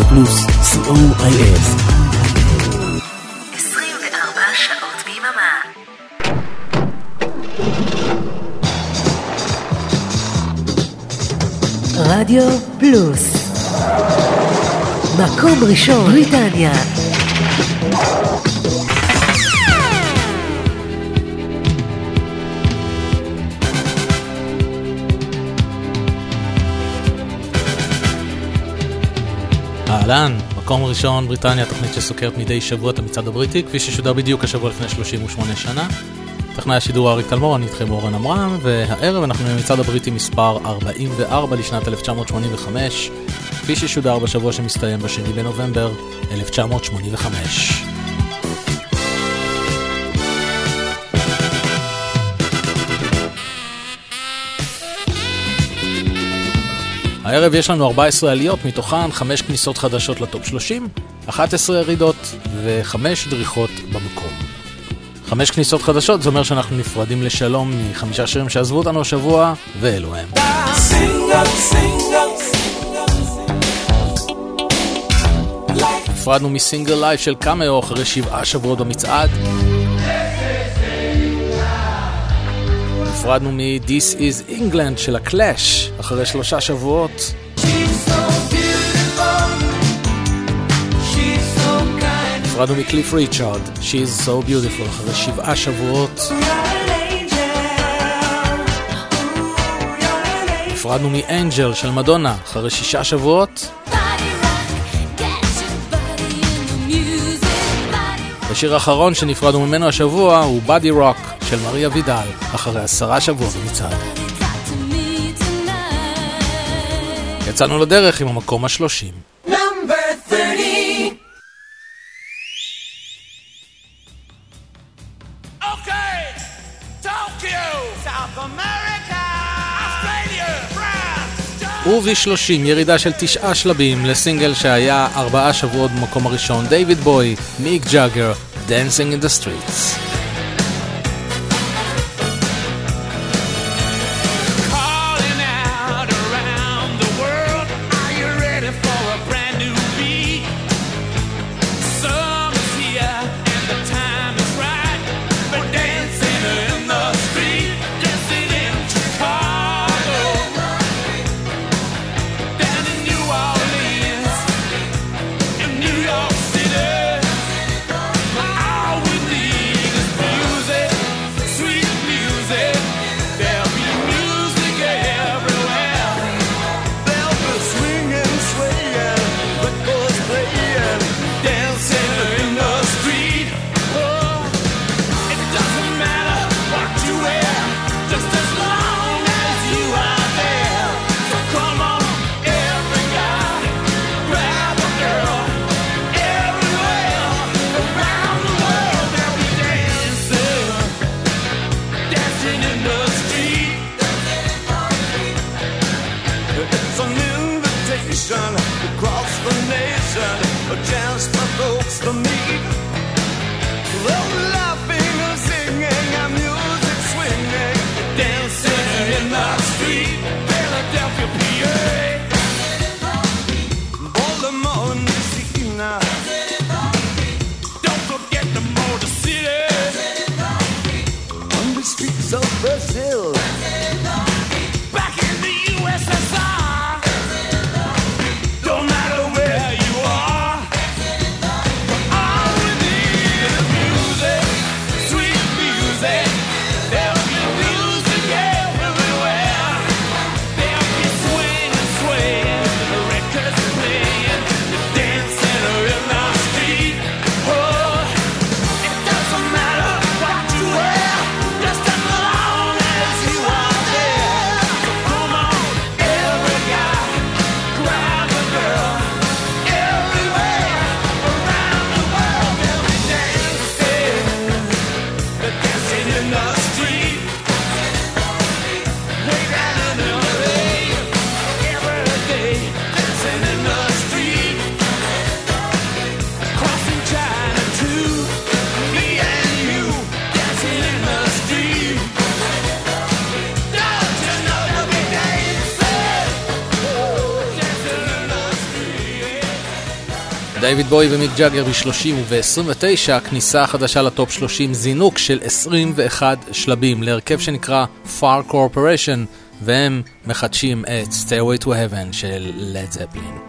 רדיו פלוס, co.il. 24 שעות ביממה. רדיו פלוס, מקום ראשון בריטניה. אהלן, מקום ראשון בריטניה, תוכנית שסוקרת מדי שבוע את המצעד הבריטי, כפי ששודר בדיוק השבוע לפני 38 שנה. טכנאי השידור אריק תלמור, אני איתכם אורן אמרם, והערב אנחנו במצעד הבריטי מספר 44 לשנת 1985, כפי ששודר בשבוע שמסתיים בשני בנובמבר 1985. הערב יש לנו 14 עליות, מתוכן 5 כניסות חדשות לטופ 30, 11 ירידות ו5 דריכות במקום. 5 כניסות חדשות, זה אומר שאנחנו נפרדים לשלום מ5 שירים שעזבו אותנו השבוע, ואלו הם. נפרדנו מסינגל לייב של קאמאו אחרי 7 שבועות במצעד. נפרדנו מ-This is England של הקלאש אחרי 3 שבועות. נפרדנו מקליף ריצ'ארד, She's so beautiful אחרי 7 שבועות. נפרדנו מאנג'ל של מדונה אחרי 6 שבועות. השיר האחרון שנפרדנו ממנו השבוע הוא Body Rock של מריה וידל אחרי 10 שבועות במצעד. יצאנו לדרך עם המקום ה-30. וב-30 ירידה של 9 שלבים לסינגל שהיה 4 שבועות במקום הראשון, דיוויד בוי, מיק ג'אגר, Dancing in the Streets. Just as long as you are. דייוויד בוי ומיק ג'אגר ב-30 וב-29, כניסה חדשה לטופ 30, זינוק של 21 שלבים להרכב שנקרא Far Corporation, והם מחדשים את Stairway to Heaven של Led Zeppelin.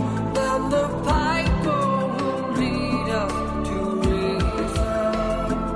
Then the piper will lead us to reason.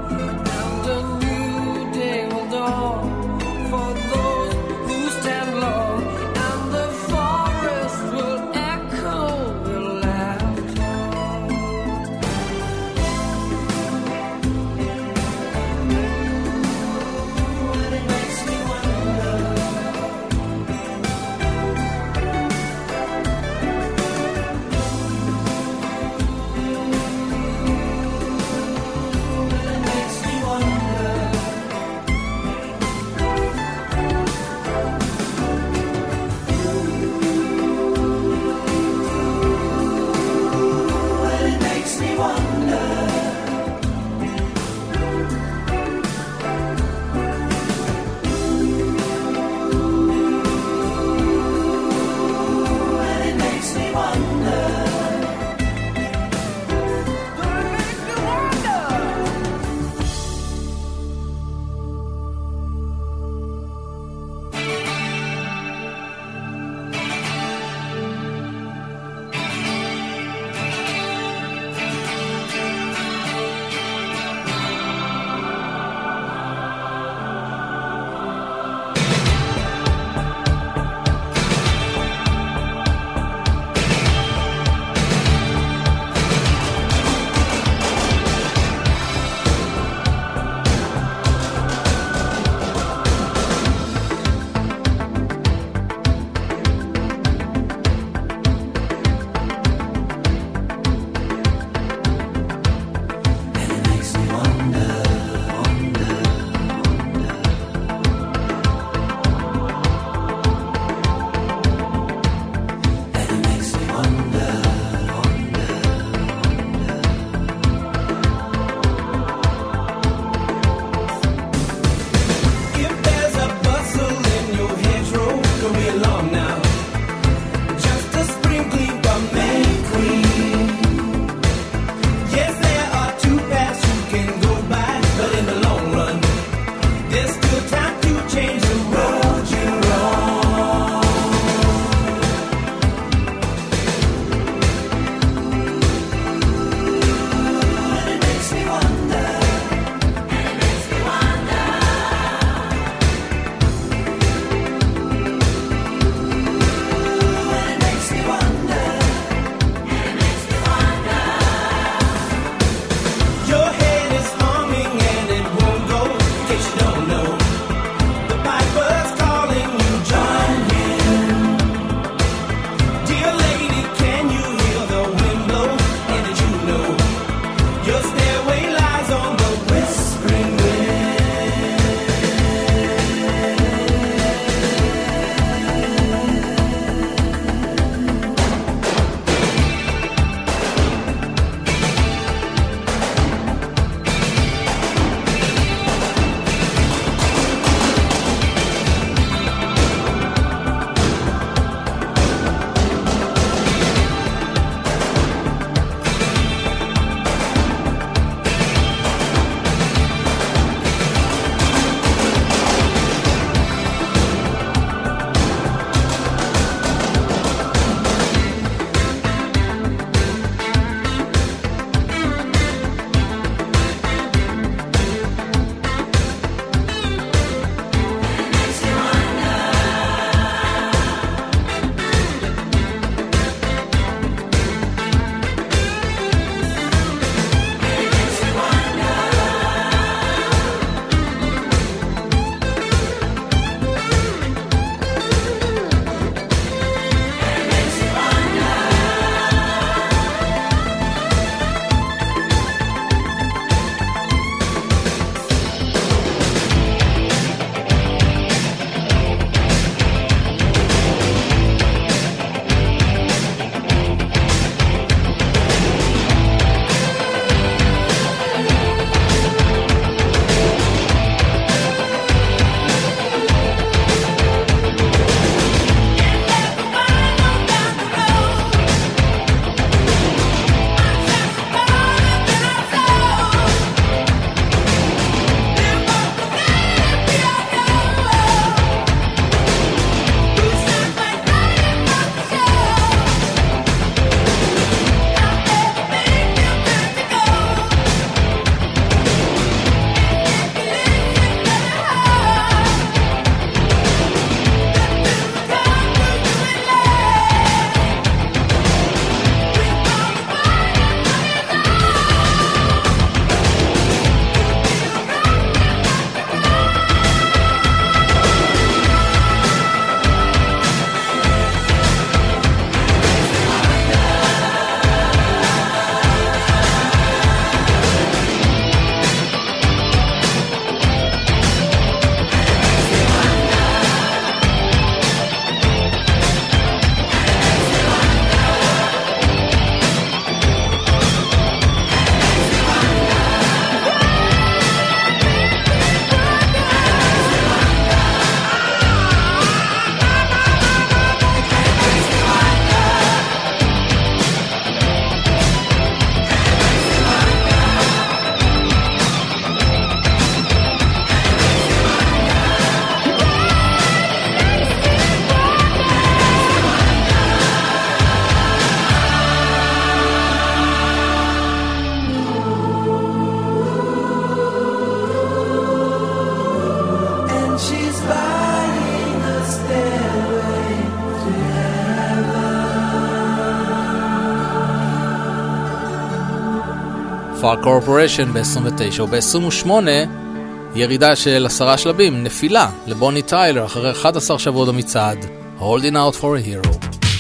Far Corporation ב-29 וב-28 ירידה של 10 שלבים, נפילה לבוני טיילר אחרי 11 שבועות במצעד, Holding Out for a Hero.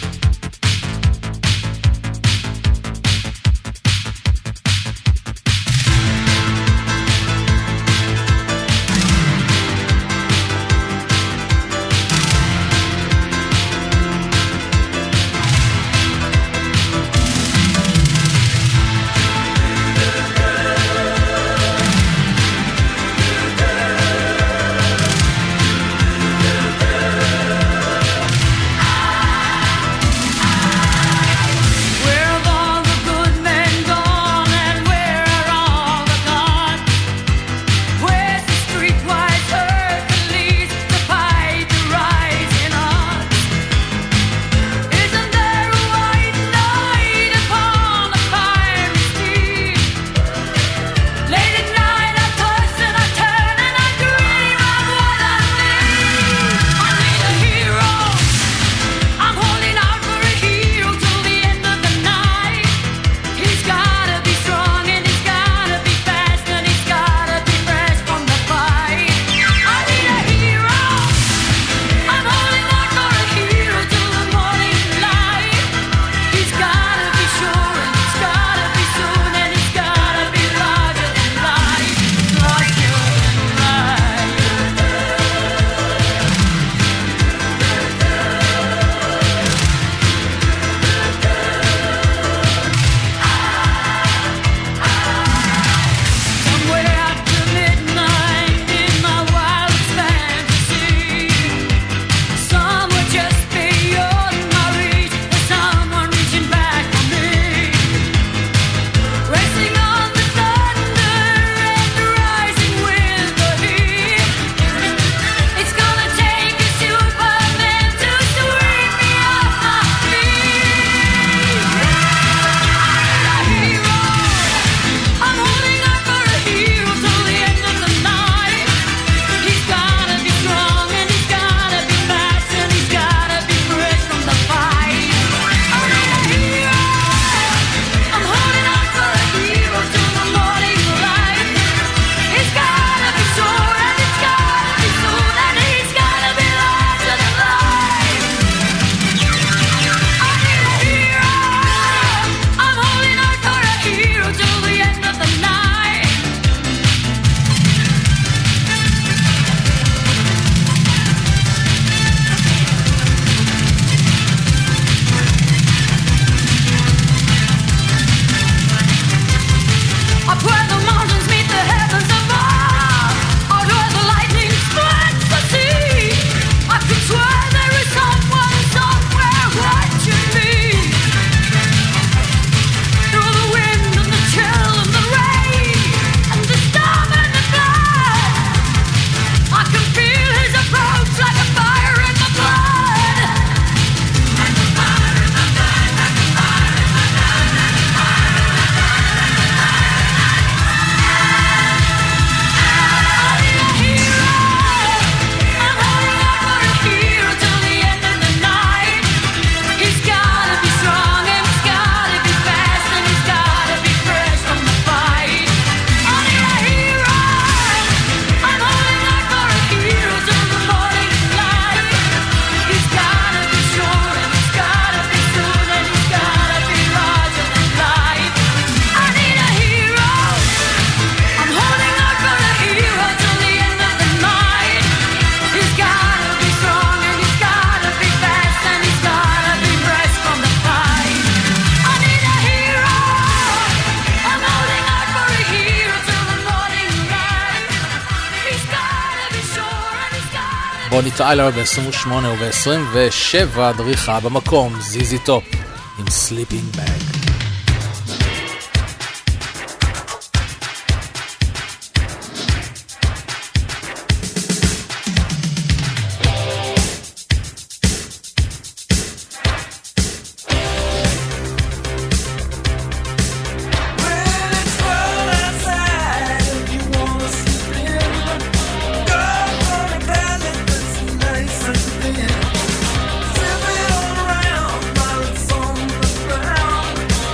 בוני טיילר ב-28 וב-27 דריכה במקום, זיזי טופ עם סליפינג בג. Sipping on around while it's on the ground.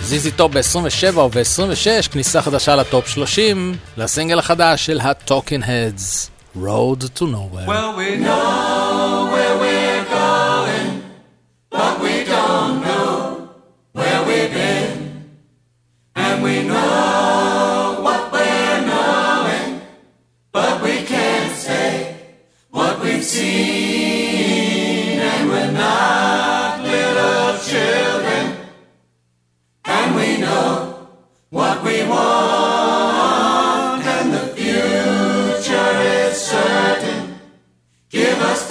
זיזי טופ ב-27 וב-26, כניסה חדשה לטופ 30, לסינגל החדש של ה-Talking Heads, Road to Nowhere. Well, we know where we're going, but we don't know where we've been. And we know what we're knowing, but we can't say what we've seen. And we're not little children, and we know what we want, and the future is certain. Give us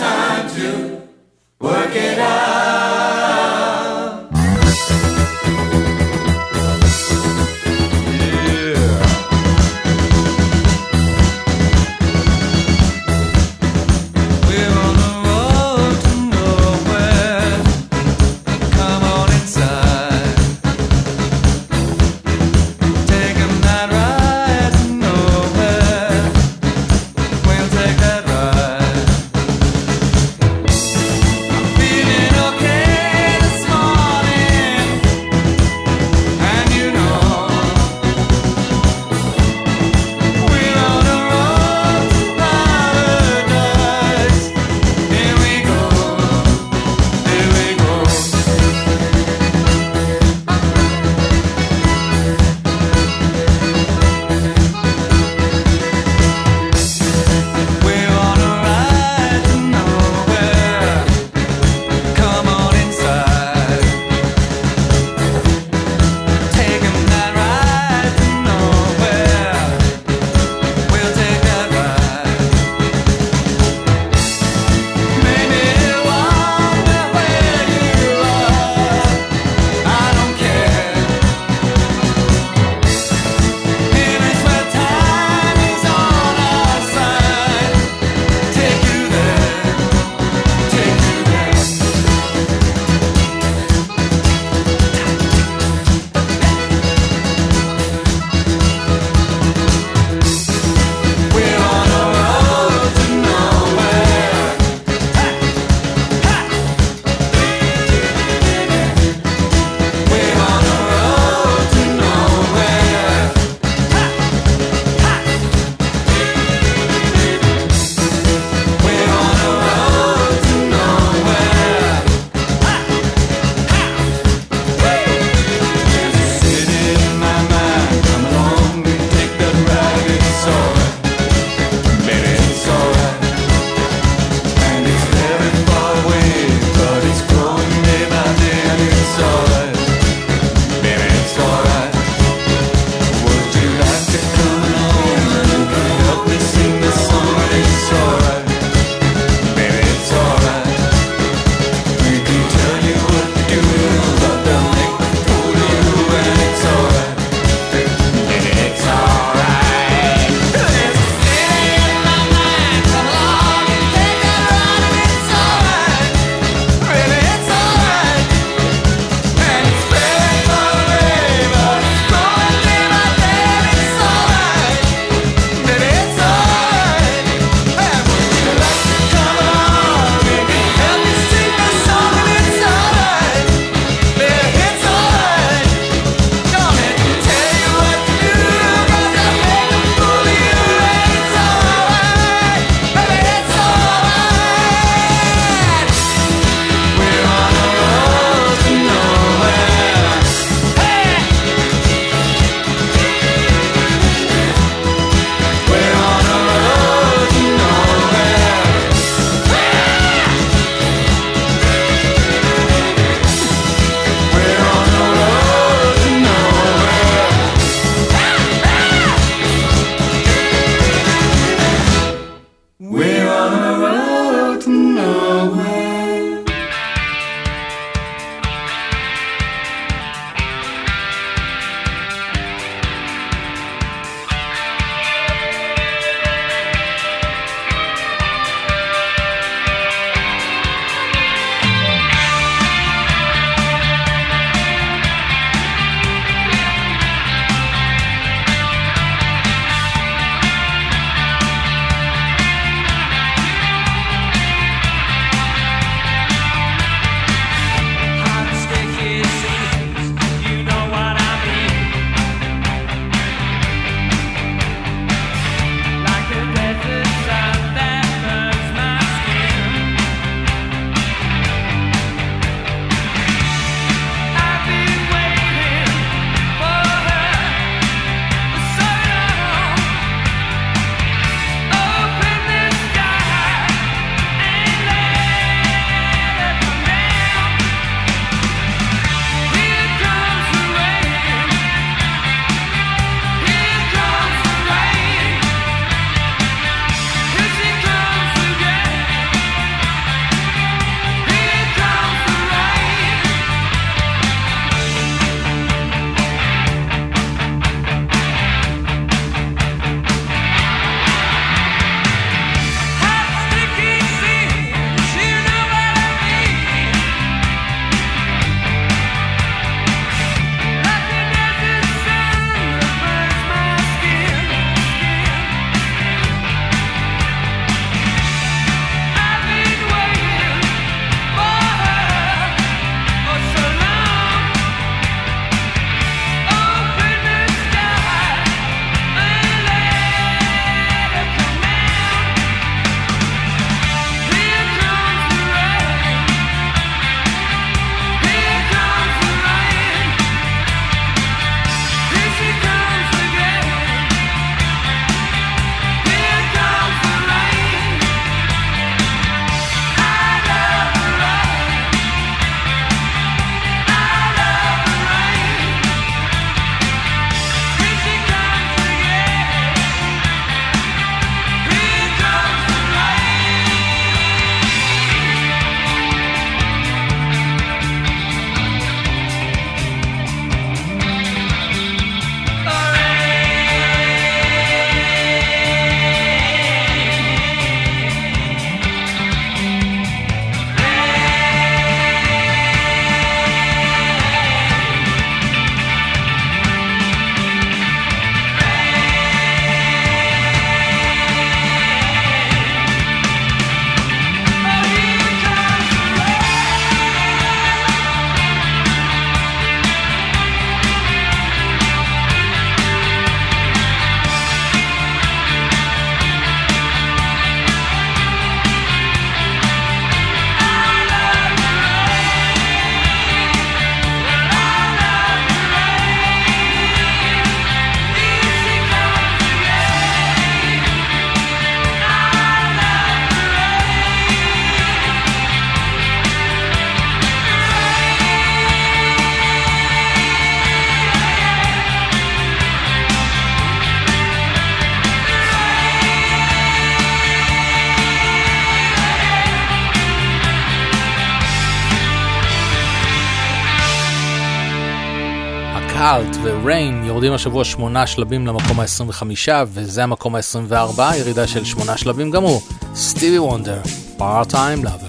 קאלט וריין יורדים השבוע 8 שלבים למקום ה-25, וזה המקום ה-24, ירידה של 8 שלבים גם הוא. סטיבי וונדר, Part-Time Lover.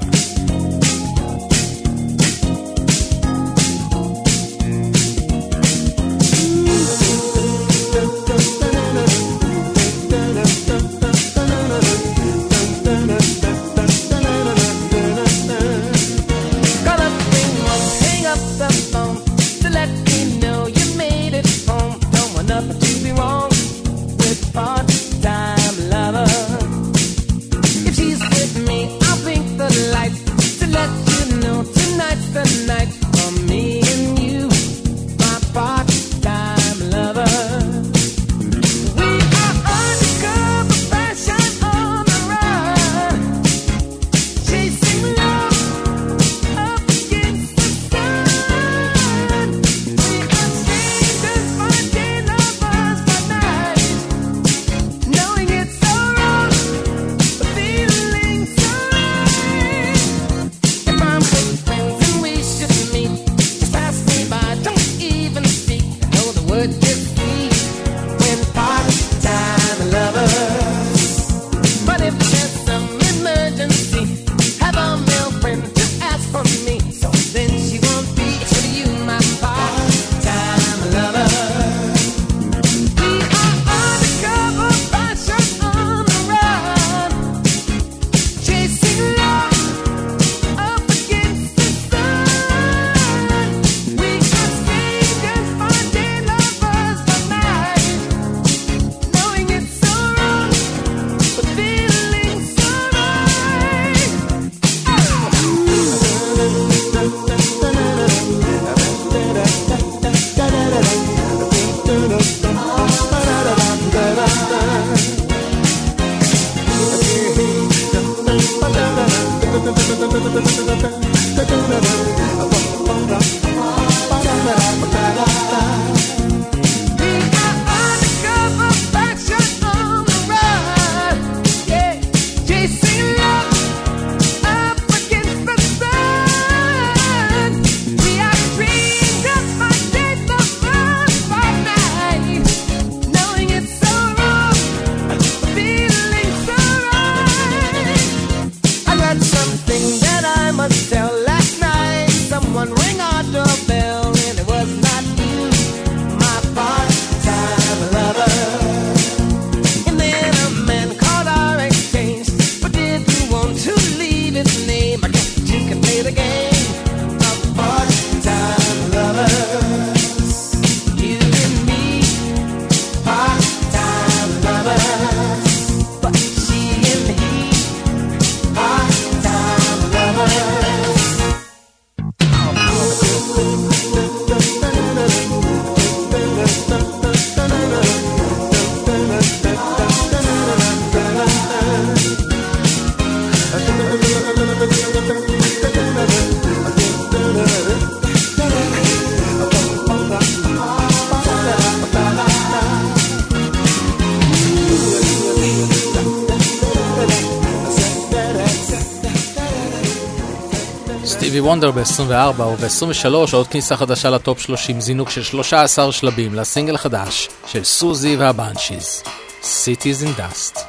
וונדר ב-24 וב-23 עוד כניסה חדשה לטופ 30, זינוק של 13 שלבים לסינגל החדש של סוזי והבנשיז, Cities in Dust.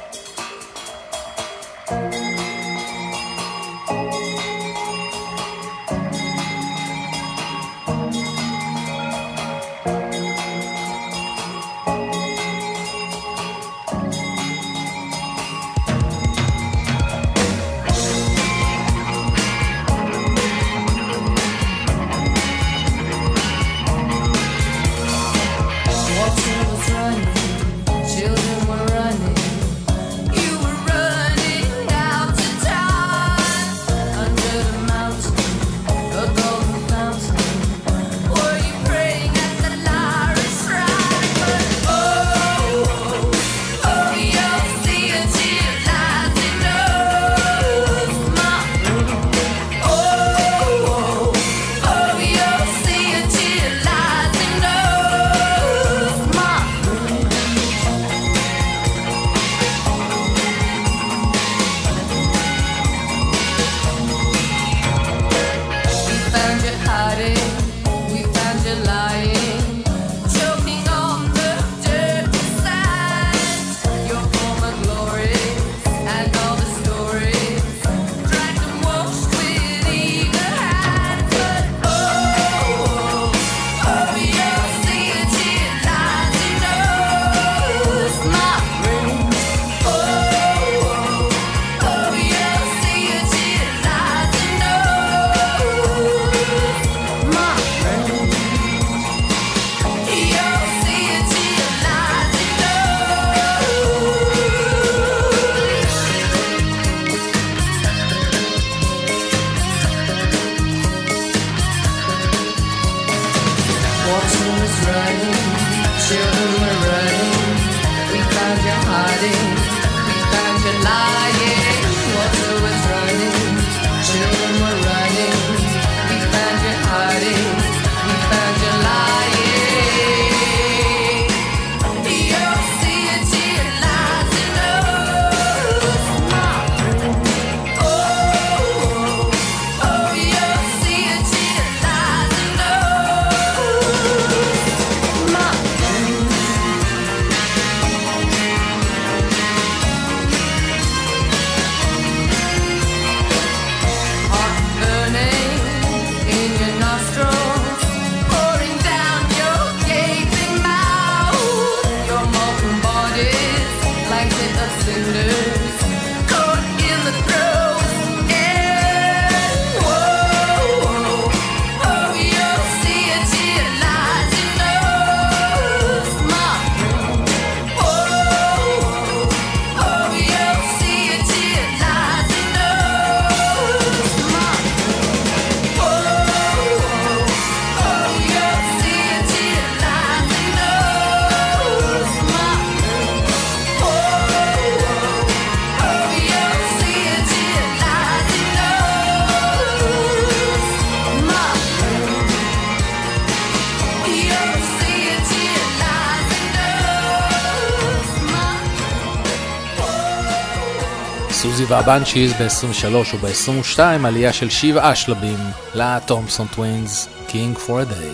Children were running, was running, children were running. We found you hiding, we found you lying. Water was running, children were running. We found you hiding, we found you lying. You'll see it, you lies and knows. Oh, oh, you'll see it, you lies and knows. My heart burning in your nostrils, pouring down your gaping mouth. Your molten bodies like bit of cinders, caught in the throes. And whoa, oh, you'll see it, you lies and knows. My whoa, oh, you'll see it, you lies and knows. My whoa, oh, you'll see it, you lies and knows. My whoa, oh, you'll see it, you lies and knows. My you'll see it, you lies and knows. סוזי והבנצ'יז ב-23 וב-22 עלייה של 7 שלבים לתומפסון טווינס, King for a Day.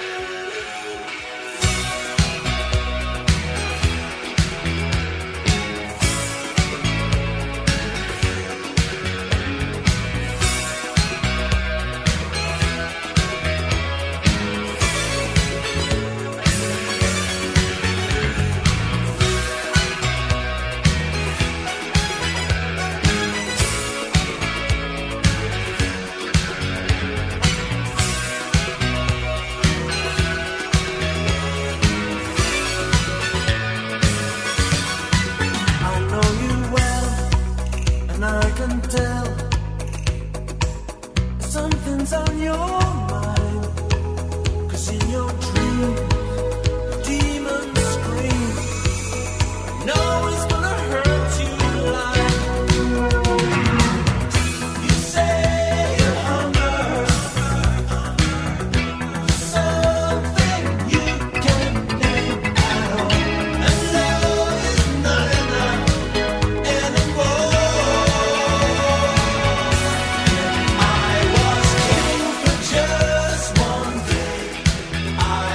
I know you well, and I can tell something's on your mind. 'Cause in your dreams, demons scream. No, it's gonna hurt you like you say you're hunger. Something you can't name at all. And love is not enough anymore. I was king for just one day. I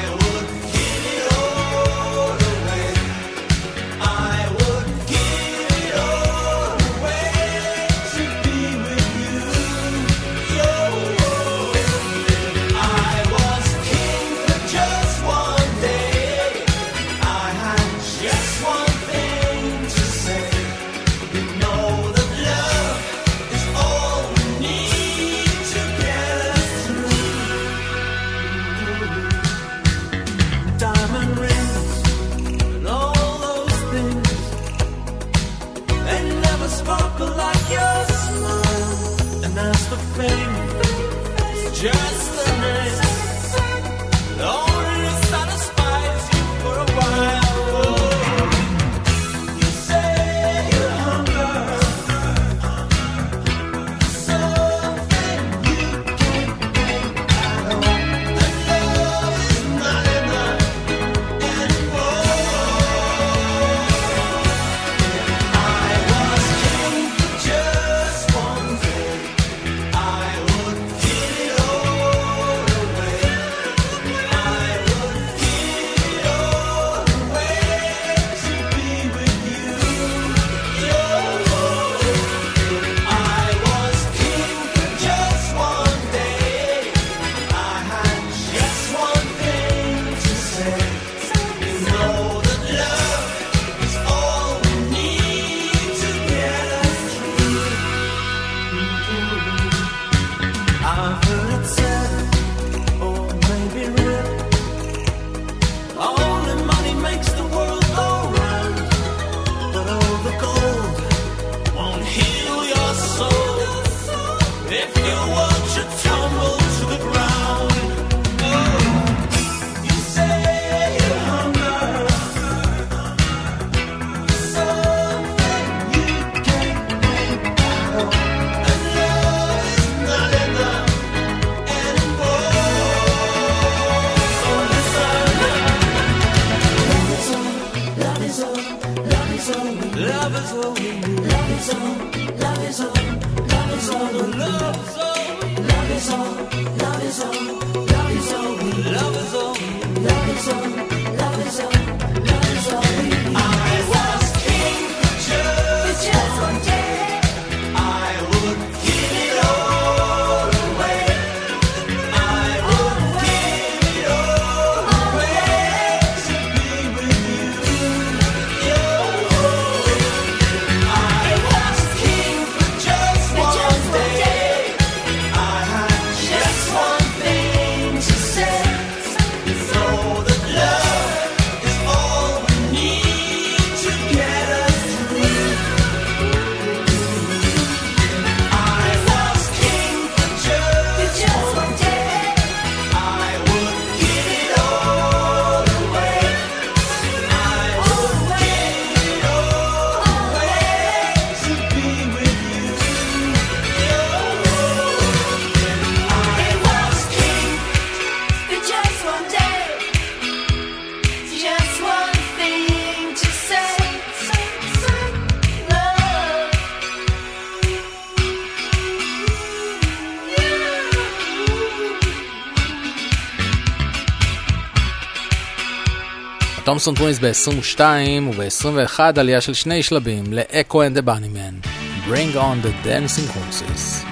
תומסון טווינס ב-22 וב-21 עלייה של 2 שלבים ל-Echo and the Bunnymen, Bring on the Dancing Horses.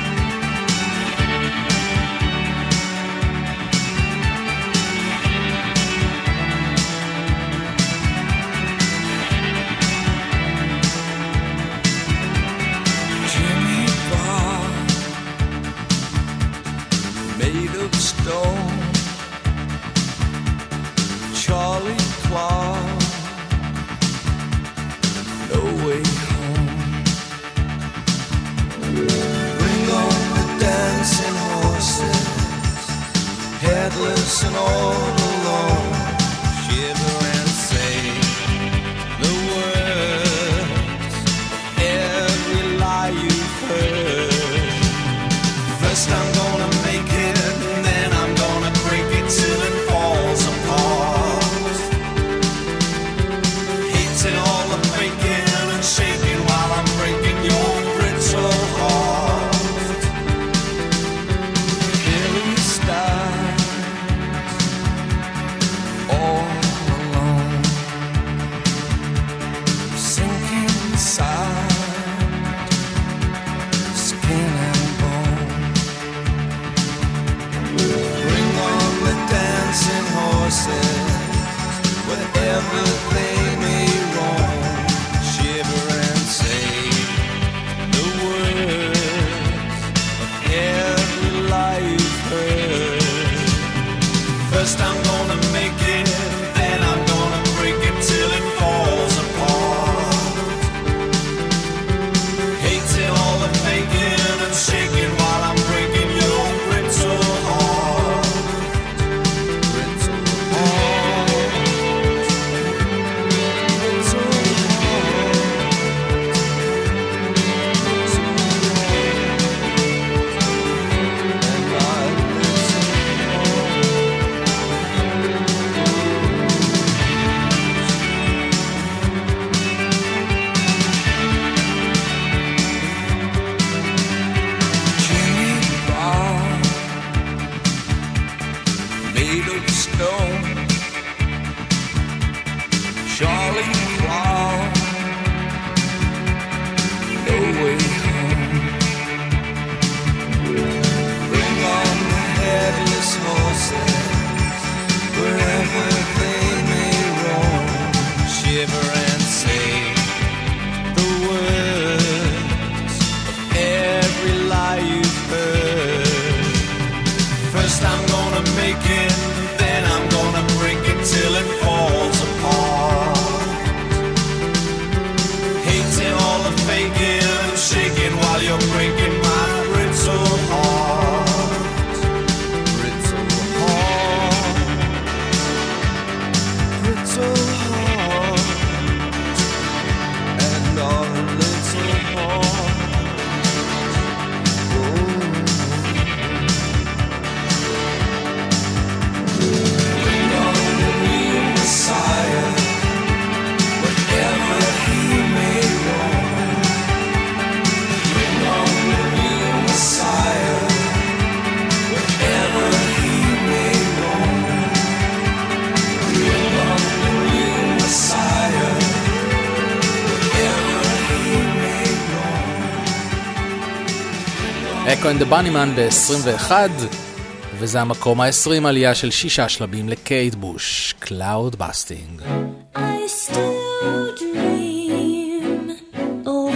And all alone, shiver and say the words, every lie you've heard. First I'm gonna make it, and then I'm gonna break it till it falls apart. Hating all the faking and shaking while I'm breaking your brittle heart. Here we start. All alone, sinking inside, skin and bone. Bring on the dancing horses, wherever they may roam. Shiver and say the words of every lie you've heard. First I'm gonna make it, then I'm gonna break it till it falls apart. Hating all the faking and shaking while I'm breaking your brittle heart. Brittle heart. Brittle Charlie Clown, no way home. Bring on the headless horses, wherever they may roam. Shiver and say the words of every lie you've heard. First I'm gonna make it, then I'm gonna break it till it falls apart. Hating all the faking and shaking while you're breaking my brittle heart. Brittle heart. Brittle heart. And our little heart. Bring on the new Messiah, whatever he may roam. Bring on the new Messiah, whatever he may roam. Bring on the new Messiah, whatever he may roam. Echo and the Bunnymen ב-21 וזה המקום ה-20 עלייה של 6 שלבים לקייט בוש, Cloud Busting. I still dream of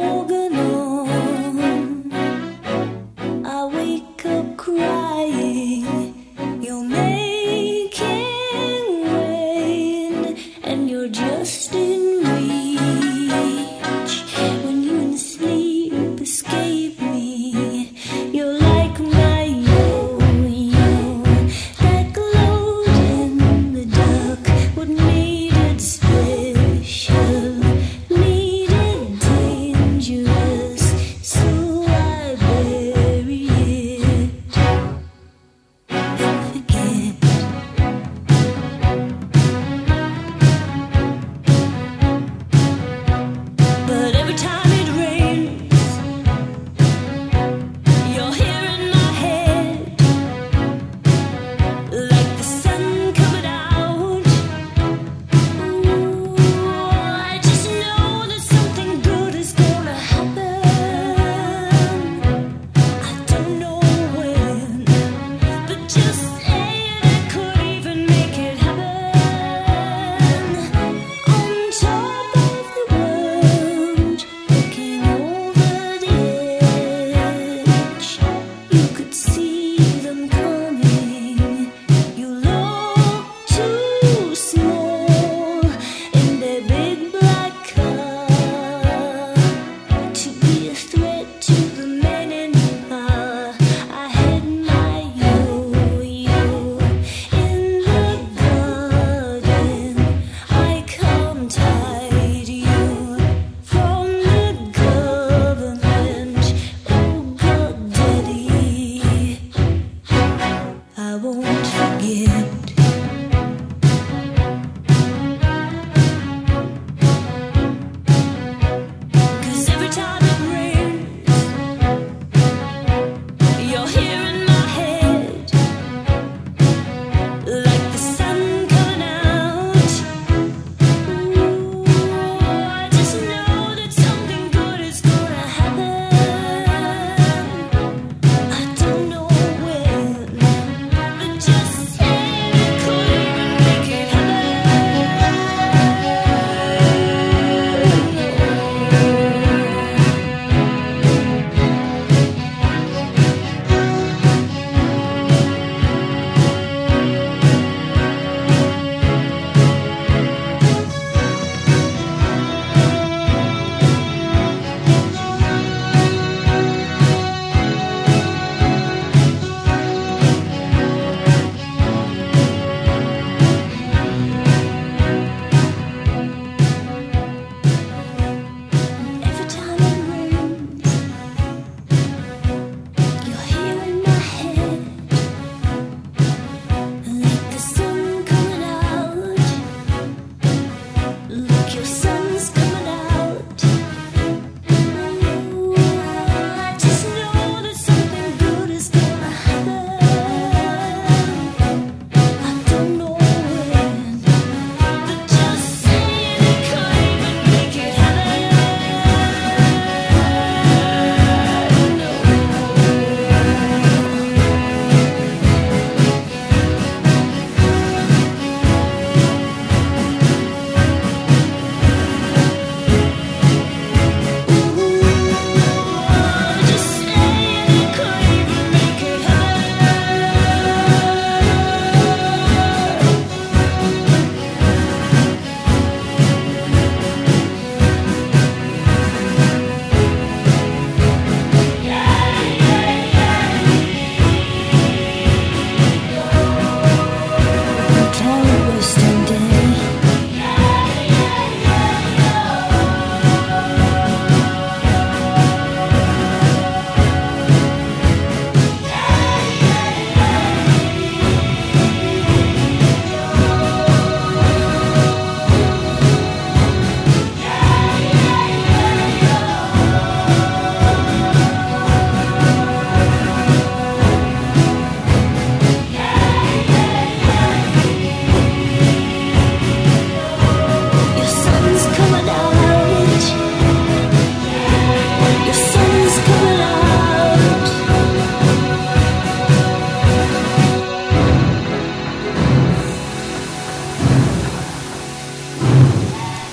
Organon. I wake up crying, you're making rain, and you're just in reach. When you in sleep escape me, you're like my yo-yo that glowed in the dark. What made it special?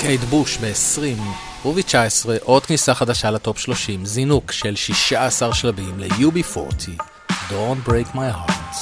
קייט בוש ב-20 וב-19 עוד כניסה חדשה לטופ 30, זינוק של 16 שלבים ל-UB40, Don't Break My Heart.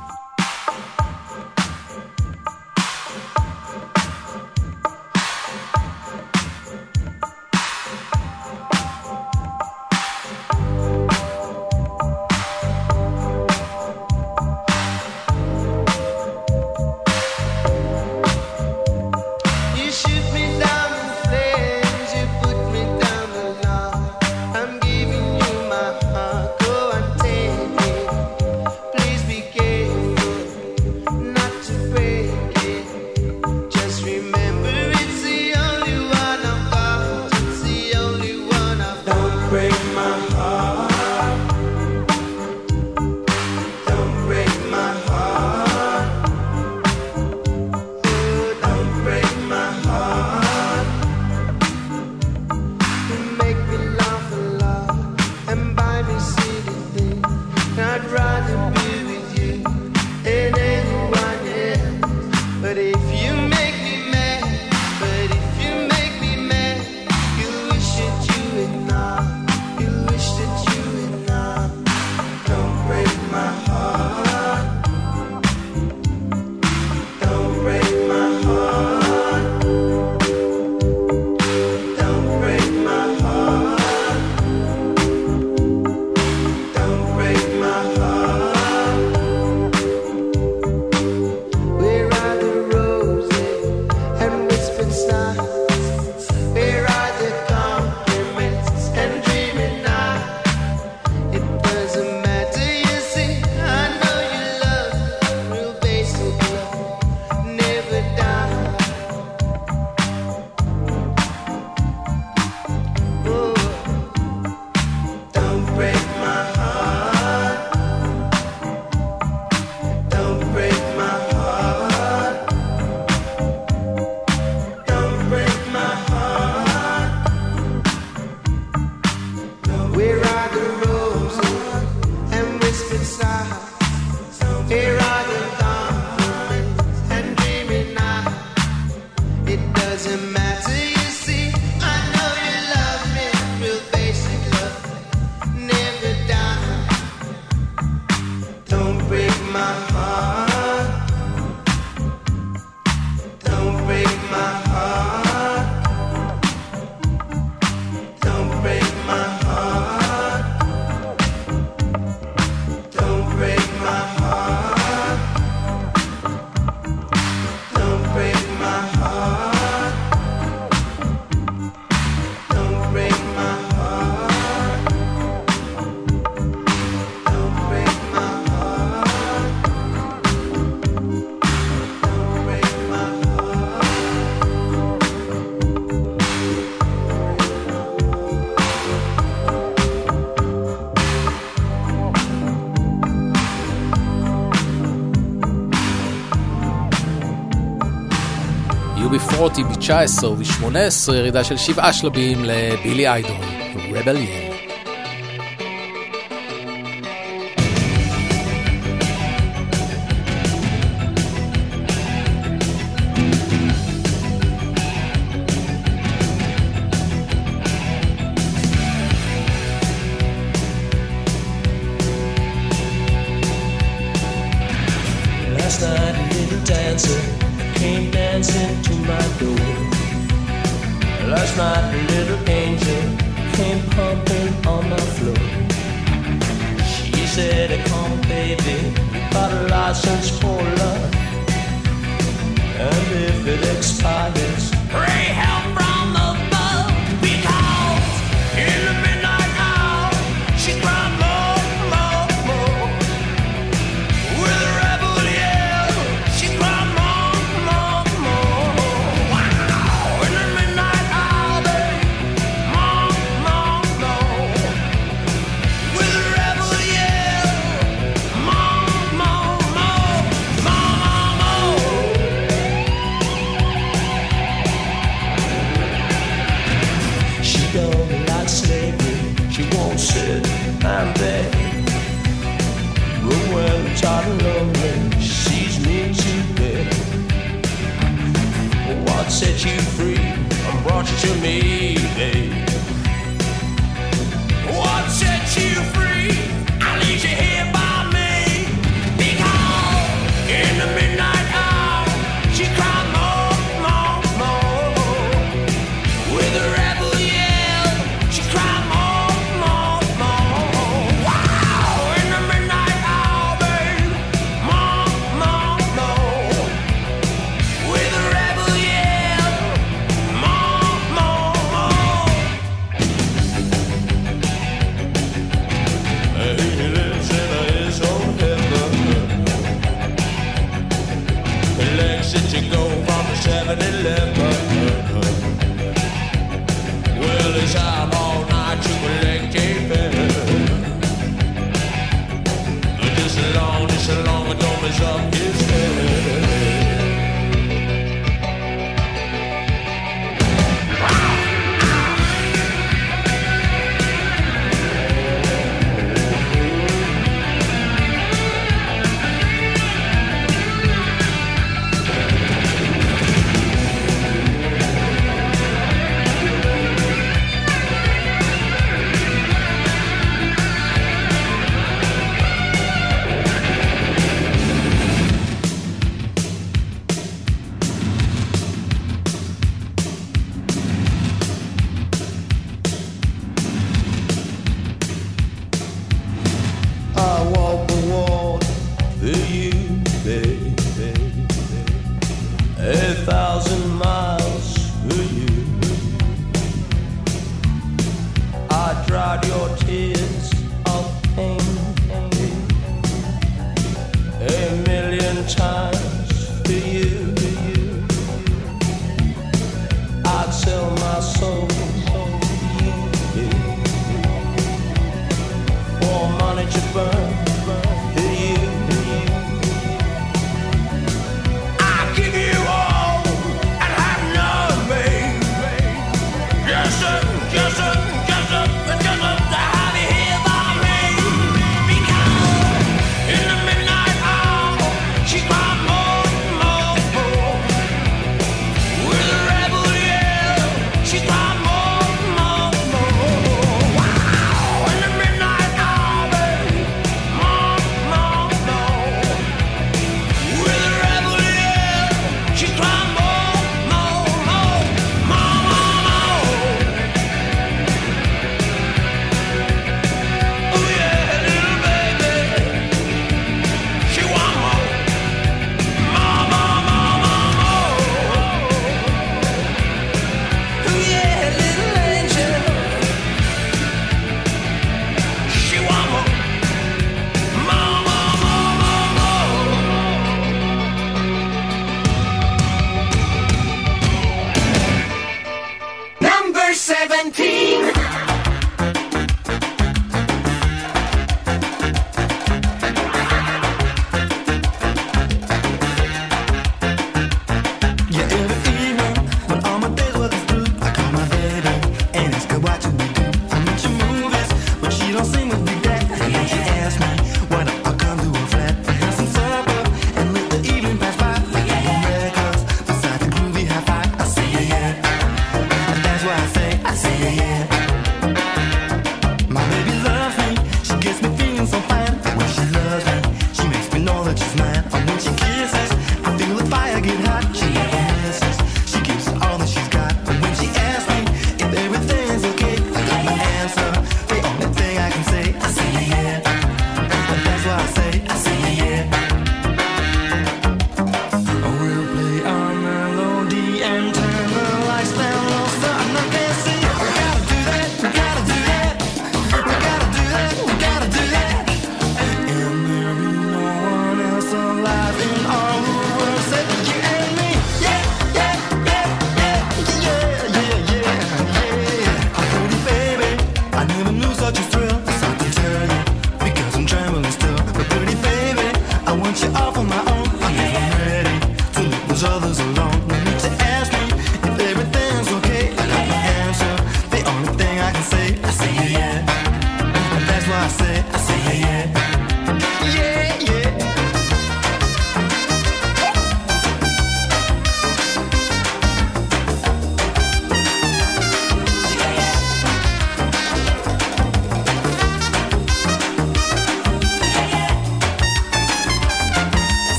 UB40 ב-19 וב-18 ירידה של 7 שלבים לבילי איידול, Rebellion. Last night a little dancer came dancing to my door. Last night a little angel came pumping on my floor. She said, come baby, you got a license for love, and if it expires, pray help from above, because in the midnight hour she cried more, more, more. With a rebel yell, she cried more, more, more. Wow! In the midnight hour, babe, more, more, more. With a rebel yell, more, more, more, more, more. exit you go from the 7-Eleven. Well, it's out all night to collect a fare. Just as long as don't mess up his head.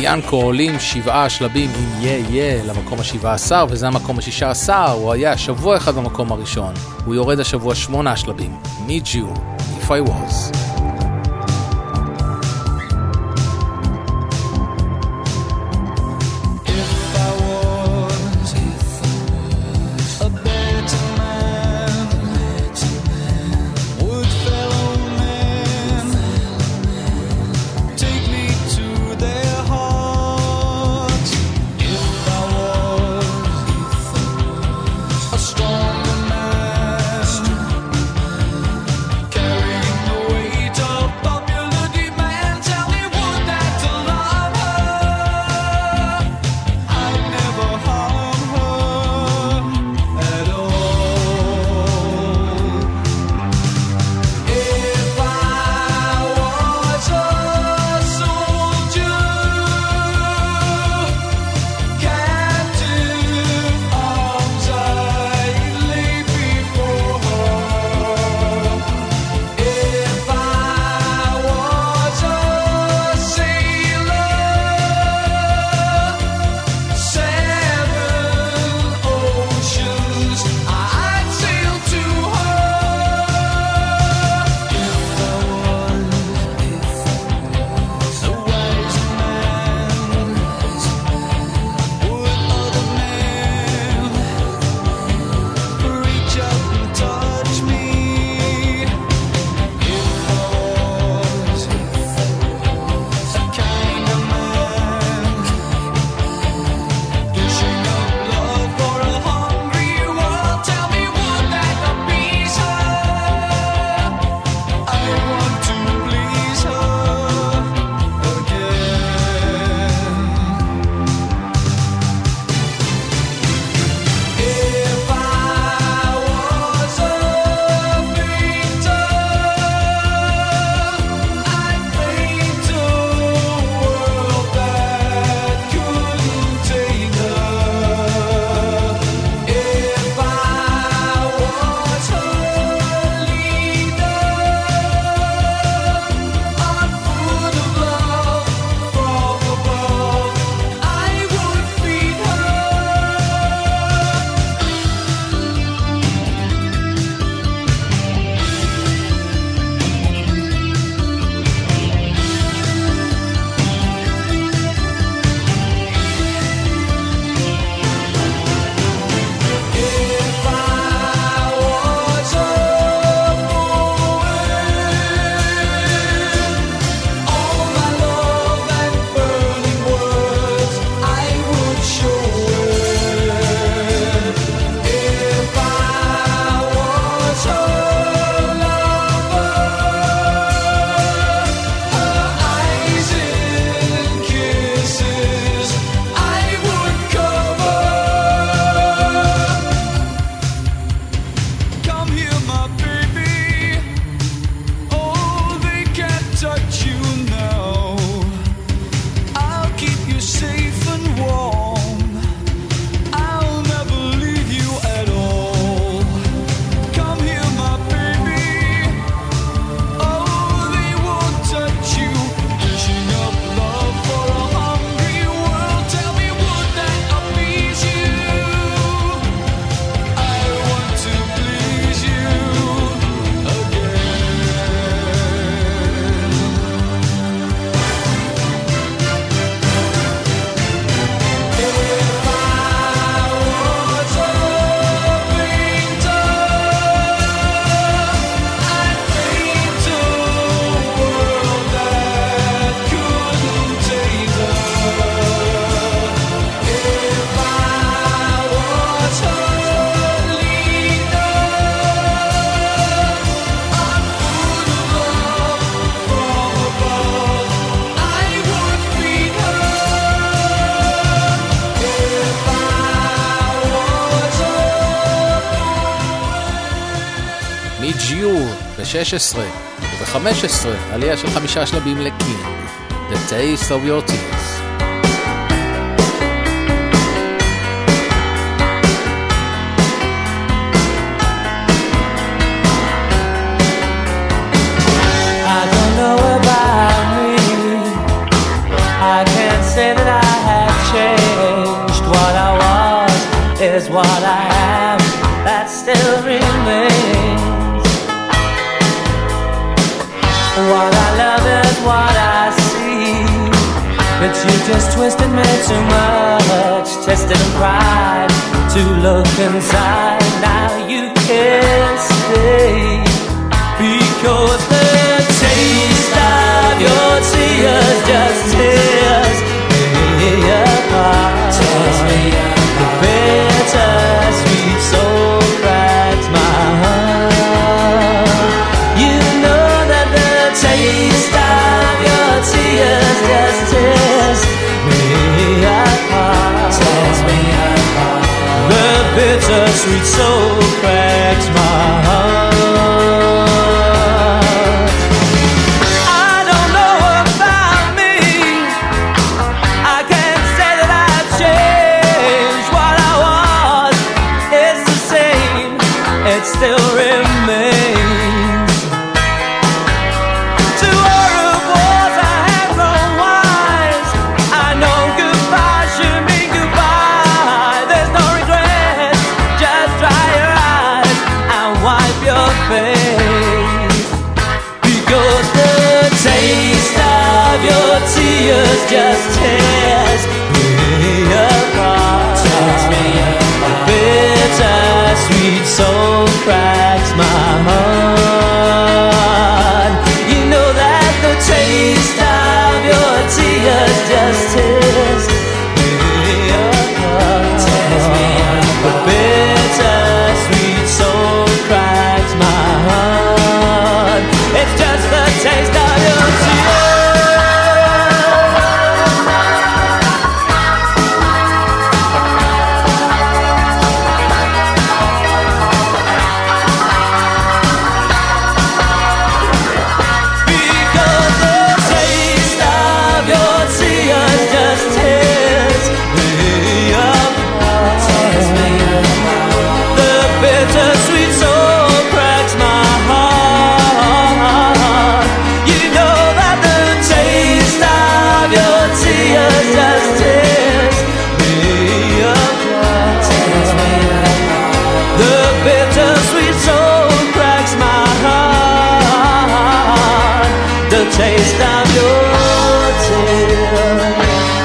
ינקו עולים 7 שלבים עם יה למקום ה-17, וזה המקום ה-16, הוא היה שבוע אחד במקום הראשון, הוא יורד השבוע 8 שלבים, Need You, If I Was. ב-16 וב-15 עלייה של 5 שלבים לקינג, The Taste of Your Tears. I don't know about me, I can't say that just twisted me too much, tested and cried to look inside. Now you can't stay because the taste of your tears just tears me apart. Tears me apart. The bittersweet soul cracks my heart. You know that the taste of your tears just tears me apart. Tears me apart. The bittersweet soul cracks my heart. I don't know about me. I can't say that I've changed. What I was is the same. It still remains. To all who was I have grown wise. I know goodbye should mean goodbye. There's no regret. Just dry your eyes and wipe your face. Because the taste of your tears just tears me apart. Tears me apart. The bittersweet soul cracks my heart. You know that the taste of your tears just tears me apart. Tears me apart. The bittersweet soul cracks my heart. It's just the taste of your tears. Because the taste of your tears just tears me apart. Tears me apart. The bittersweet soul cracks my heart. You know that the taste of your tears just tears me apart. Tears me apart. The bittersweet soul cracks my heart. The taste of your tears.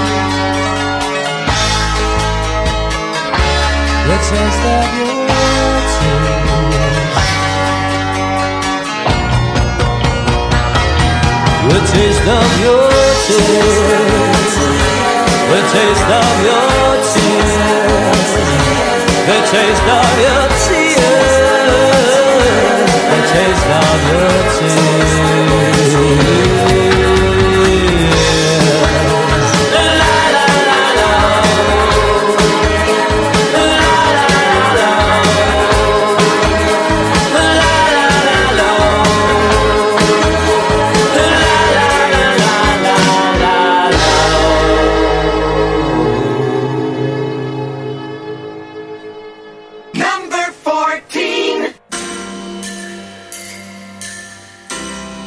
The taste of your tears. The taste of your tears. The taste of your tears. The taste of your tears. The taste of your tears. La la la la. La la la la. La la la la. Number 14.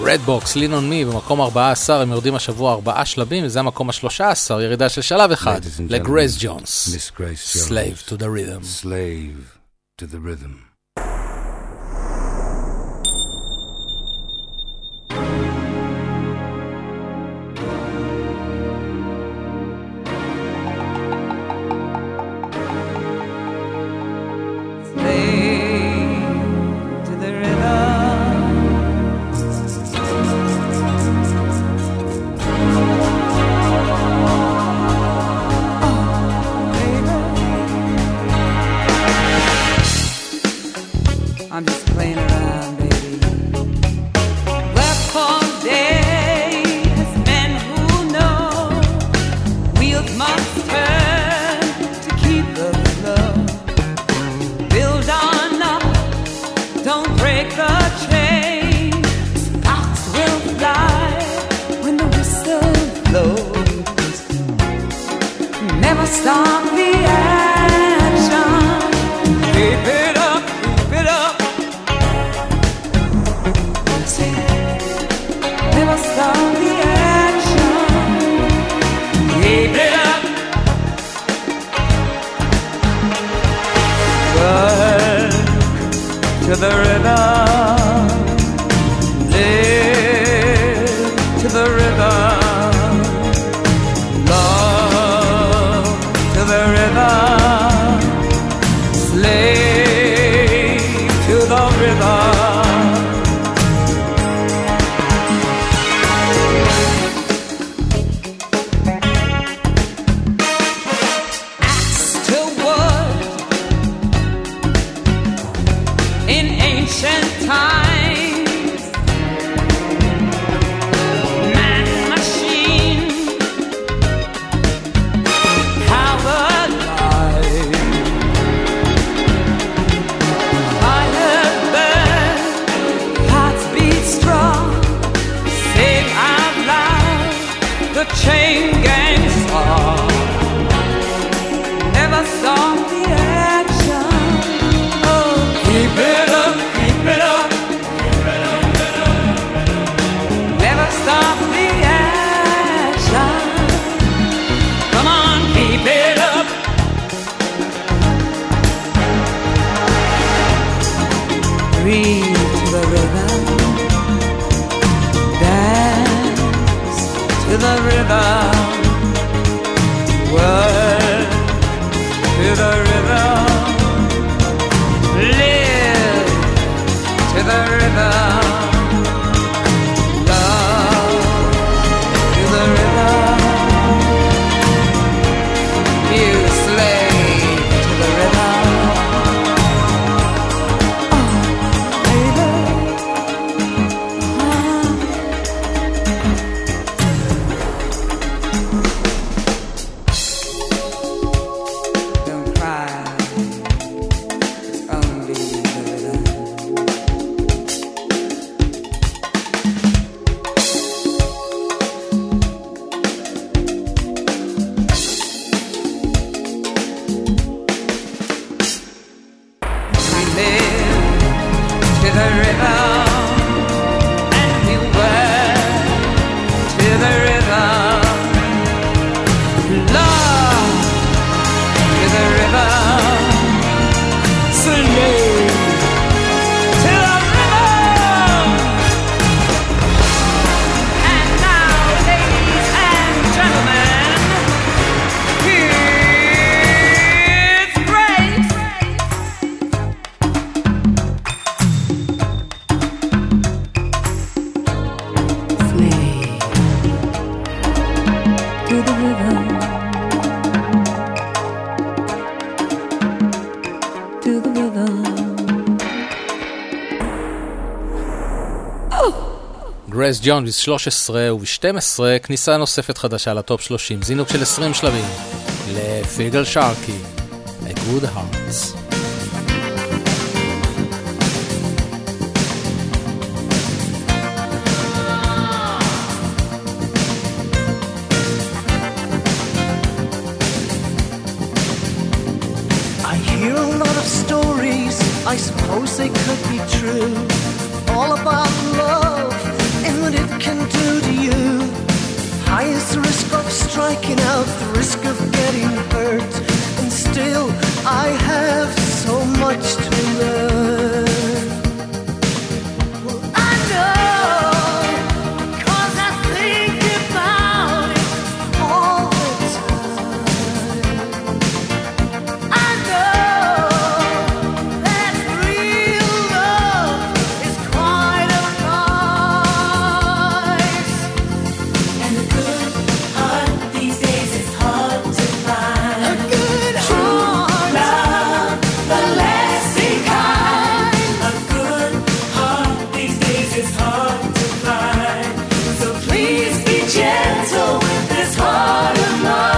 רדבוקס, Lean on Me, במקום 14, הם יורדים השבוע 4 שלבים, וזה המקום ה-13, ירידה של שלב אחד, לגרייס ג'ונס. Miss Grace Jones. Slave to the Rhythm. Slave to the Rhythm. I'm just playing around, baby. Work for days, men who know wheels must turn to keep the flow. Build on up, don't break the chain. Sparks will fly when the whistle blows. Never stop the action. Keep it up, keep it up. Never stop the action. Keep it up. Work to the rhythm. Live to the rhythm. Love to the rhythm. Slave to the rhythm. Ancient times, man, machine, powered life, fire burn, hearts beat strong, sing out loud the chain gang song. Never stop the action. Oh, keep it up. Never stop the action. Come on, keep it up. Breathe to the rhythm. Dance to the rhythm. Work to the rhythm. Live to the rhythm. גרייס ג'ונס 13 וב-12 כניסה נוספת חדשה לטופ 30, זינוק של 20 שלבים לפיגל שרקי, A Good Hearts. I hear a lot of stories, I suppose they could be true, all about love in what it can do to you. Highest risk of striking out, the risk of getting hurt. And still I have so much to learn. Well, I know, 'cause I think about it all the time. I know that real love is quite a price. And a good heart these days is hard to find. A good heart, Love, the lasting kind. a good Heart these days is hard to find. So please be gentle with this heart of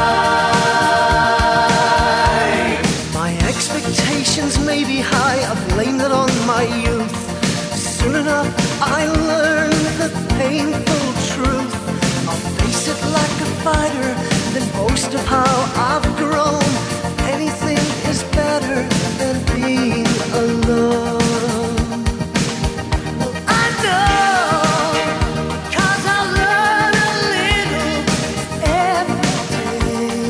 mine. My expectations may be high, I blame that on my youth. Soon enough I learn the painful truth. I'll face it like a fighter, then boast of how I've grown. Anything is better than being alone. Well, I know, 'cause I learn a little every day.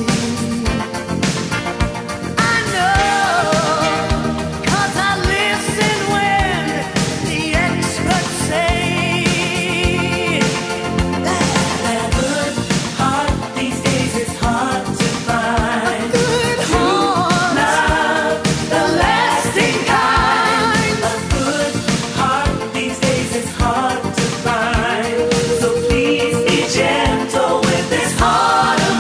I know, 'cause I listen when the experts say A good heart these days is hard to find. good heart, Love, the lasting kind. A good heart these days is hard to find. So please be gentle with this heart of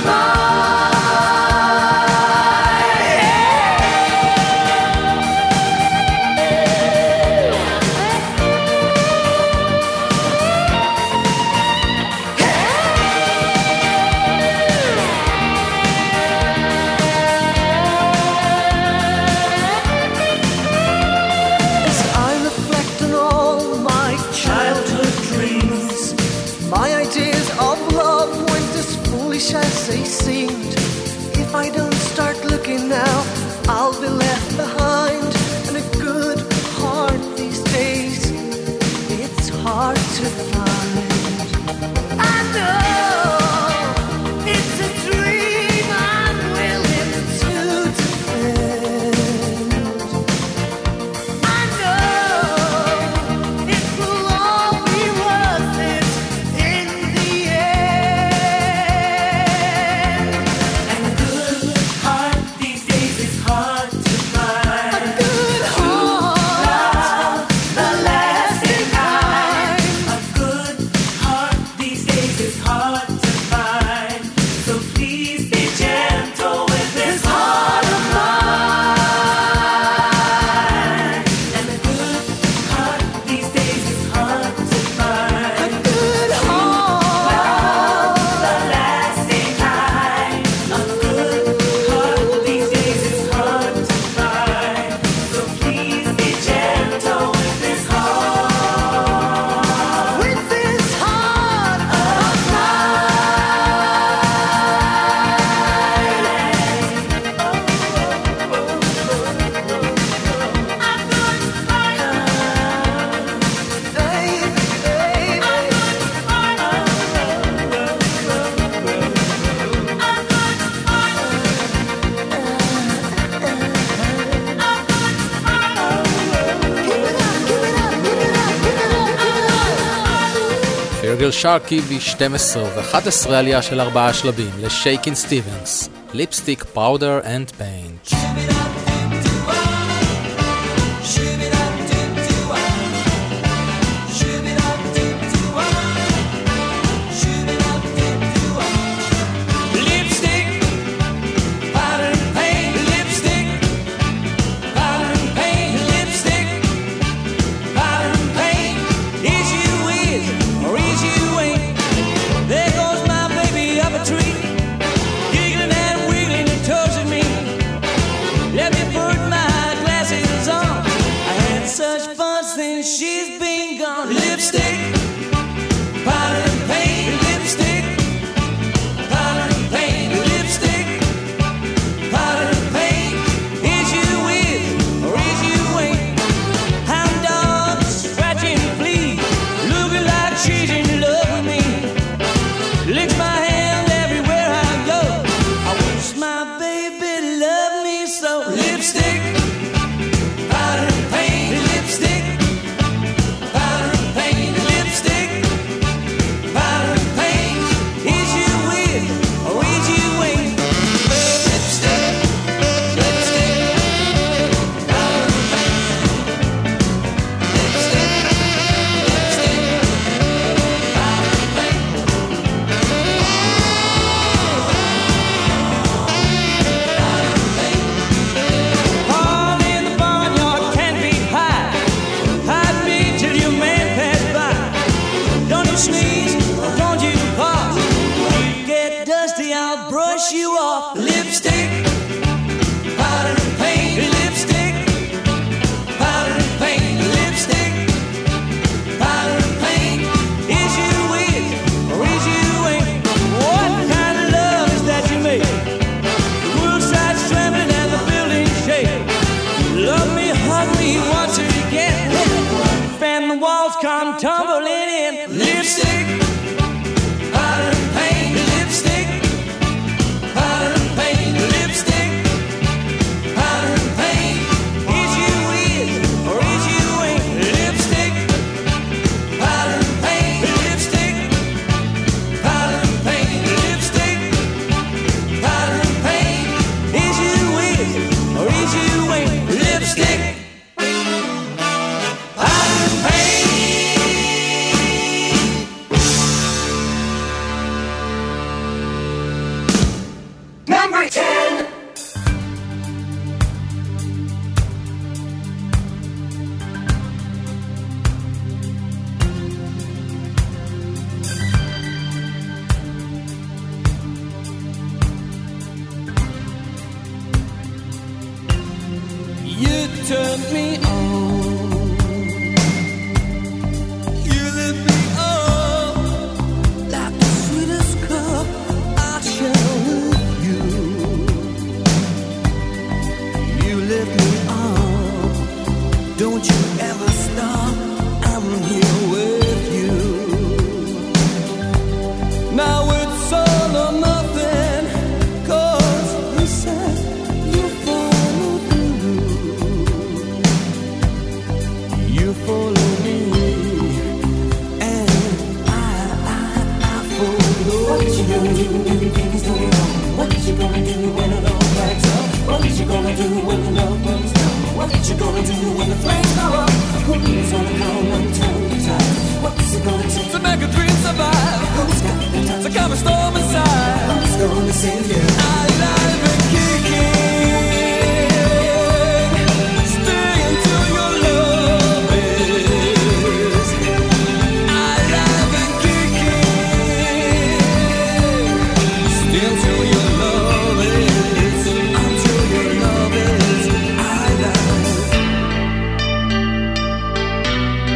as I reflect on all my childhood dreams. My ideas of love weren't as foolish as they seemed. If I don't start looking now, I'll be left behind. And a good heart these days, it's hard to find. I know it's a dream I'm willing to defend. I know it will all be worth it in the end. And a good heart these days is hard to find. A good heart, The lasting kind. kind. A good heart these days is hard to find. So please be gentle with this heart of mine. And a good heart these days is hard to find. A good heart, The lasting kind. A good heart these days is hard to find. So please be gentle with this heart. with this heart of mine. Baby, פירגל שרקי ב-12 ו-11 עלייה של 4 שלבים לשייקין סטיבנס, ליפסטיק, פאודר אנד פיינט. Lipstick, powder and paint. Lipstick, powder and paint. Lipstick, powder and paint. Is you with or is you ain't? There goes my baby up a tree, giggling and wiggling and toasting me. Let me put my glasses on. I had such fun since she's been gone. Lipstick, powder and paint. Lipstick, powder and paint. Lipstick, powder and paint. Is you with or is you ain't? Hound dogs scratching fleas, looking like cheating love. hug me, watch it again. Fan the walls come tumbling in. Lipstick, powder and paint. Lipstick, powder and paint. Lipstick, powder and paint. Is you is or is you ain't? Lipstick, powder and paint. Lipstick, powder and paint. Lipstick, powder and paint. Is you is or is you ain't? Lipstick, powder and paint. Number 10. You turned me on. You lit me up like the sweetest cup I share with you. You lit me up. Don't you ever stop. I'm here with you. Now it's all or nothing. 'Cause you said you follow through. You follow me, and I follow you. What you gonna do when things go wrong? What you gonna do when it all backs up? What you gonna do when the love burns down? What you gonna do when the flames go up? Who's gonna come and turn the tide? What's it gonna take to make a dream survive? Who's got the time to calm a storm inside? Who's gonna save you? Alive and kicking. Stay until your love is alive and kicking. Stay until your love is, until your love is alive.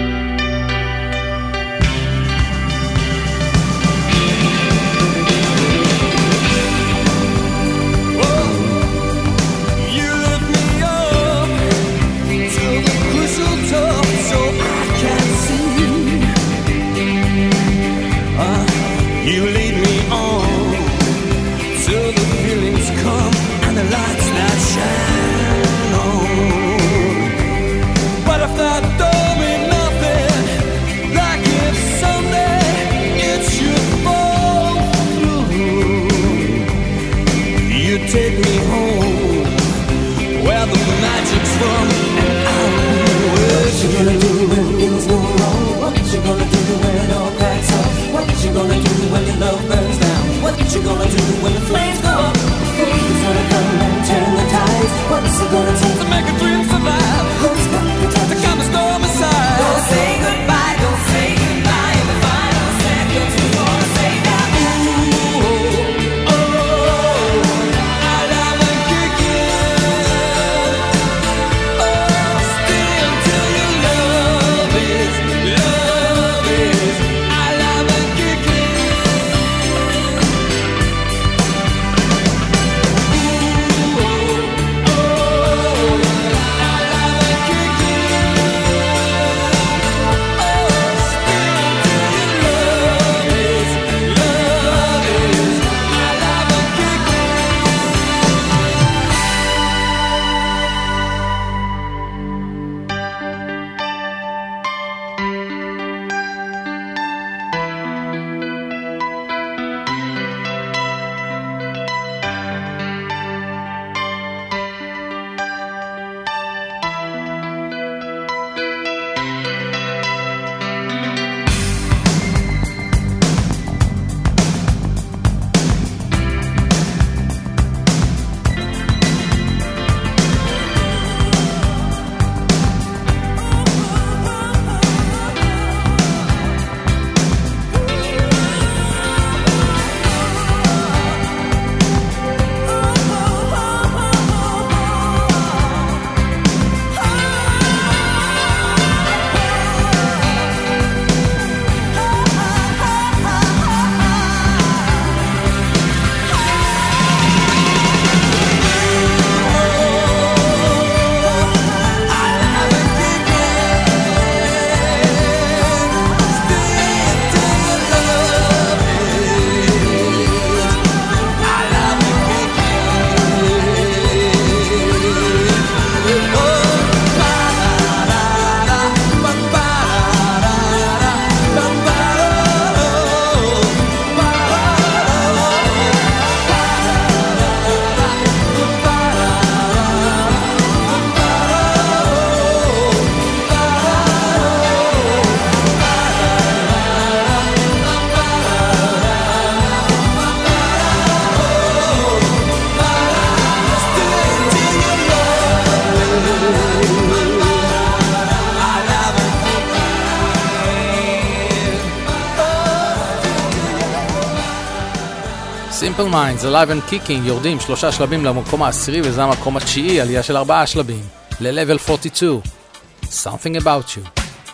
Simple Minds, Alive and Kicking, יורדים 3 שלבים למקום העשירי, וזה המקום התשיעי, עלייה של 4 שלבים, ל-Level 42, Something About You.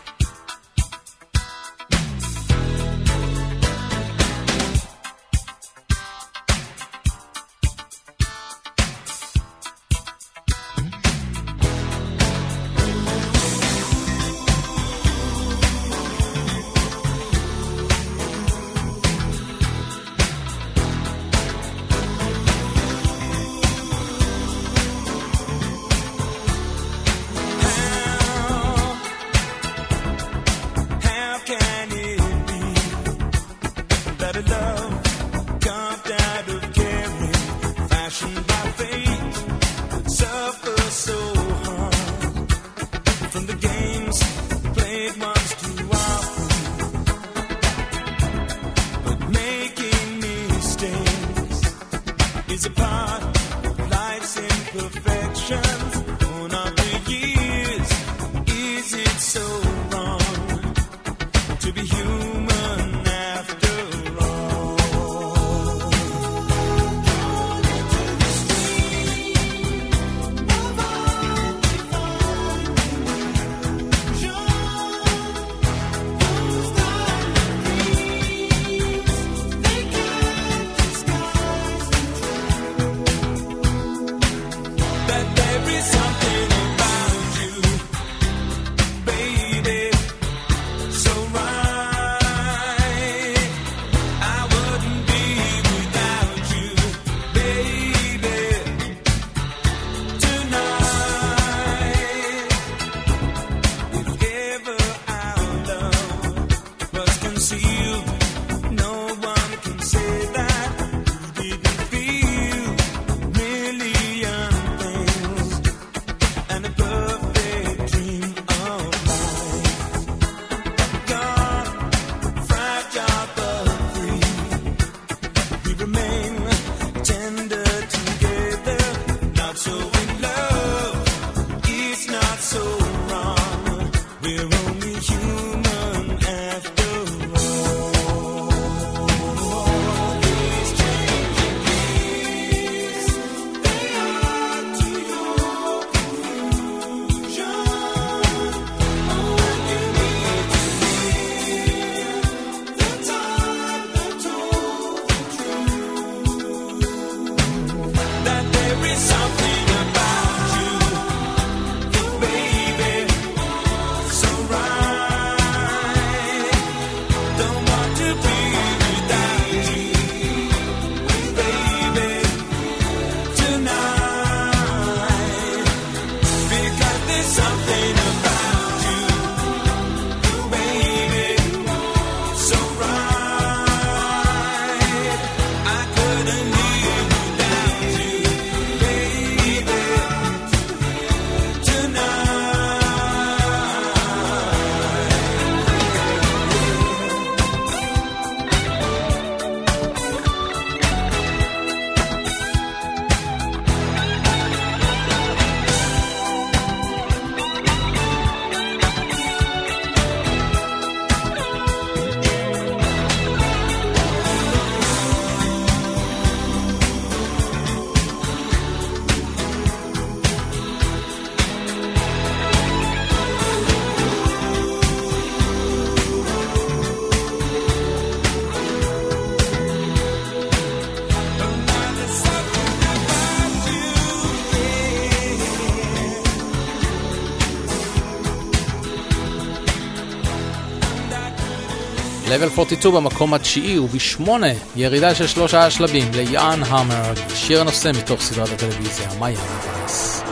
Level 42 במקום התשיעי וב8 ירידה של 3 שלבים ליאן המר, שיר הנושא מתוך סדרת הטלוויזיה מיאמי וייס.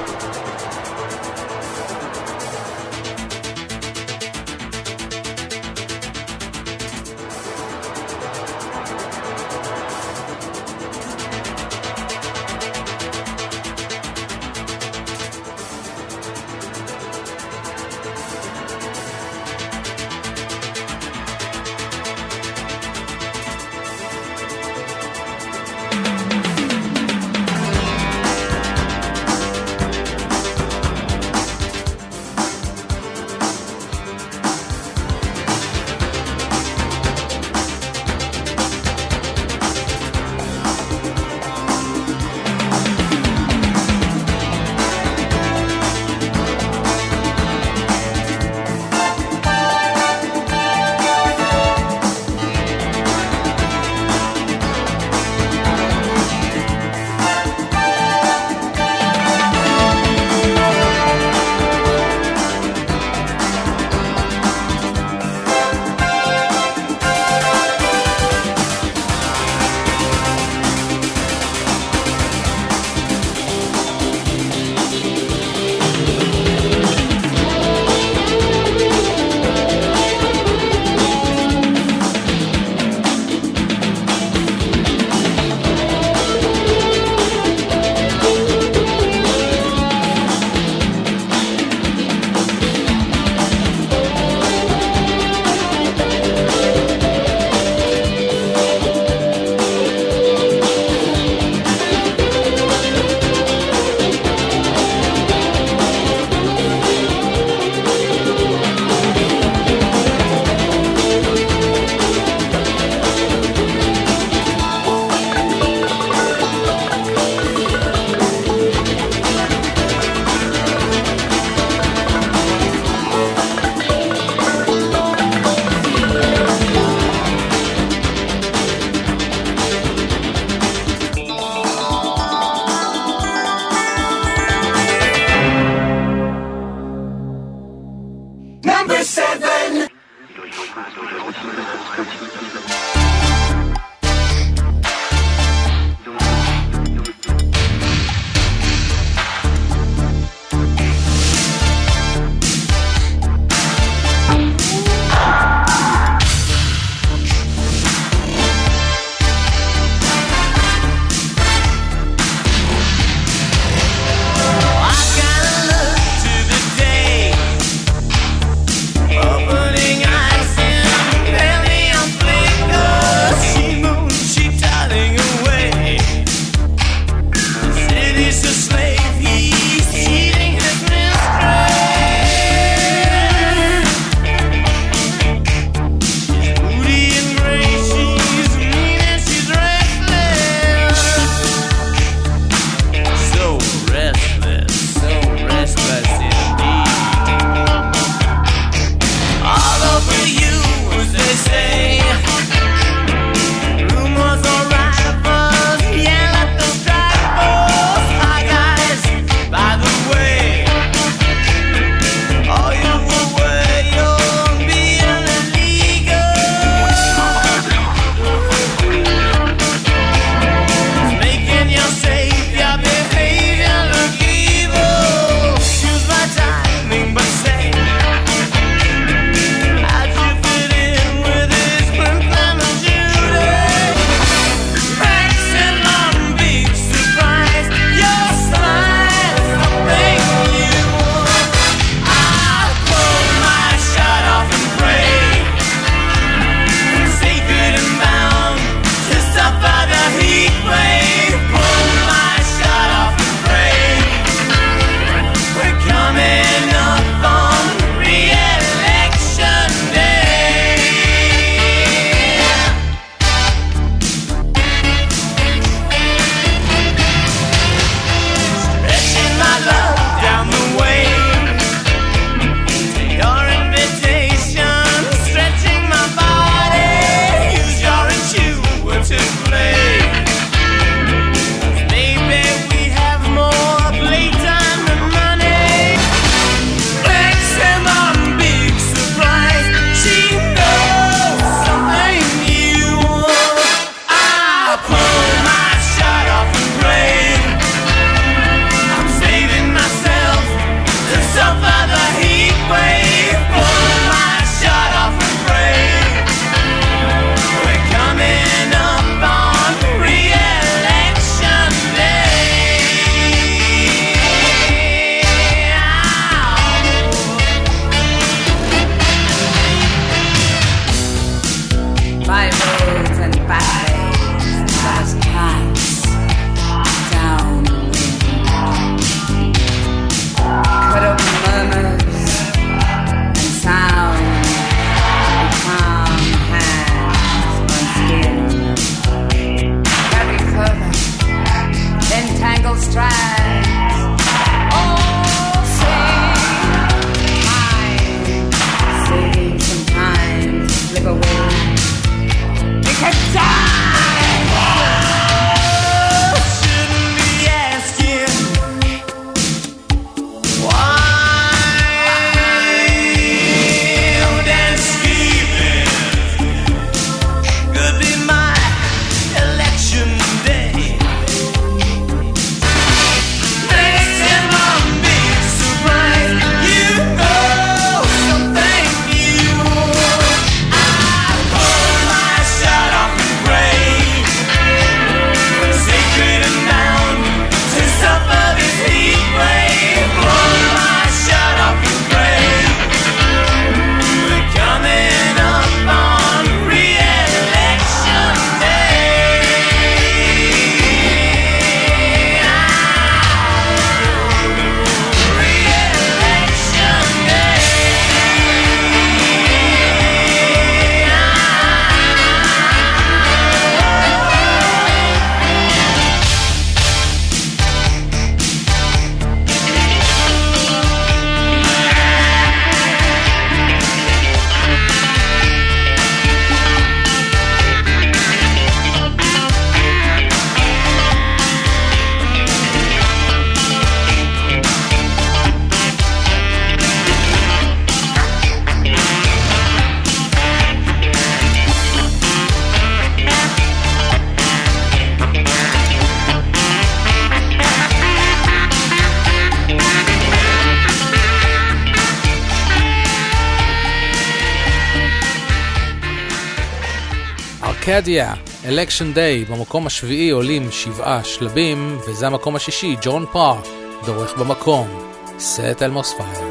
ארקדיה, אלקשן דיי, במקום השביעי עולים 7 שלבים, וזה המקום השישי, ג'ון פאר, דורך במקום, Set Elmo's Fire.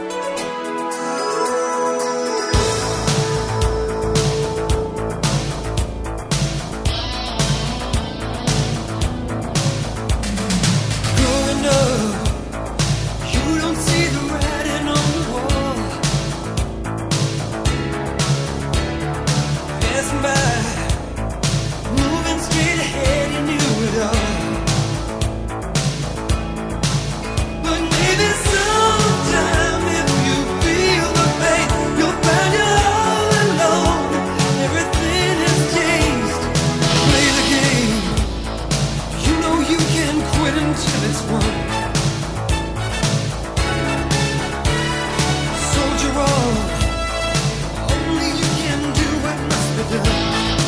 Growing up, you don't see the writing on the wall. Passing by, moving straight ahead, you knew it all. But maybe sometime if you feel the pain, you'll find you're all alone. Everything has changed. Play the game. You know you can quit until it's won. Soldier on. Only you can do what must be done.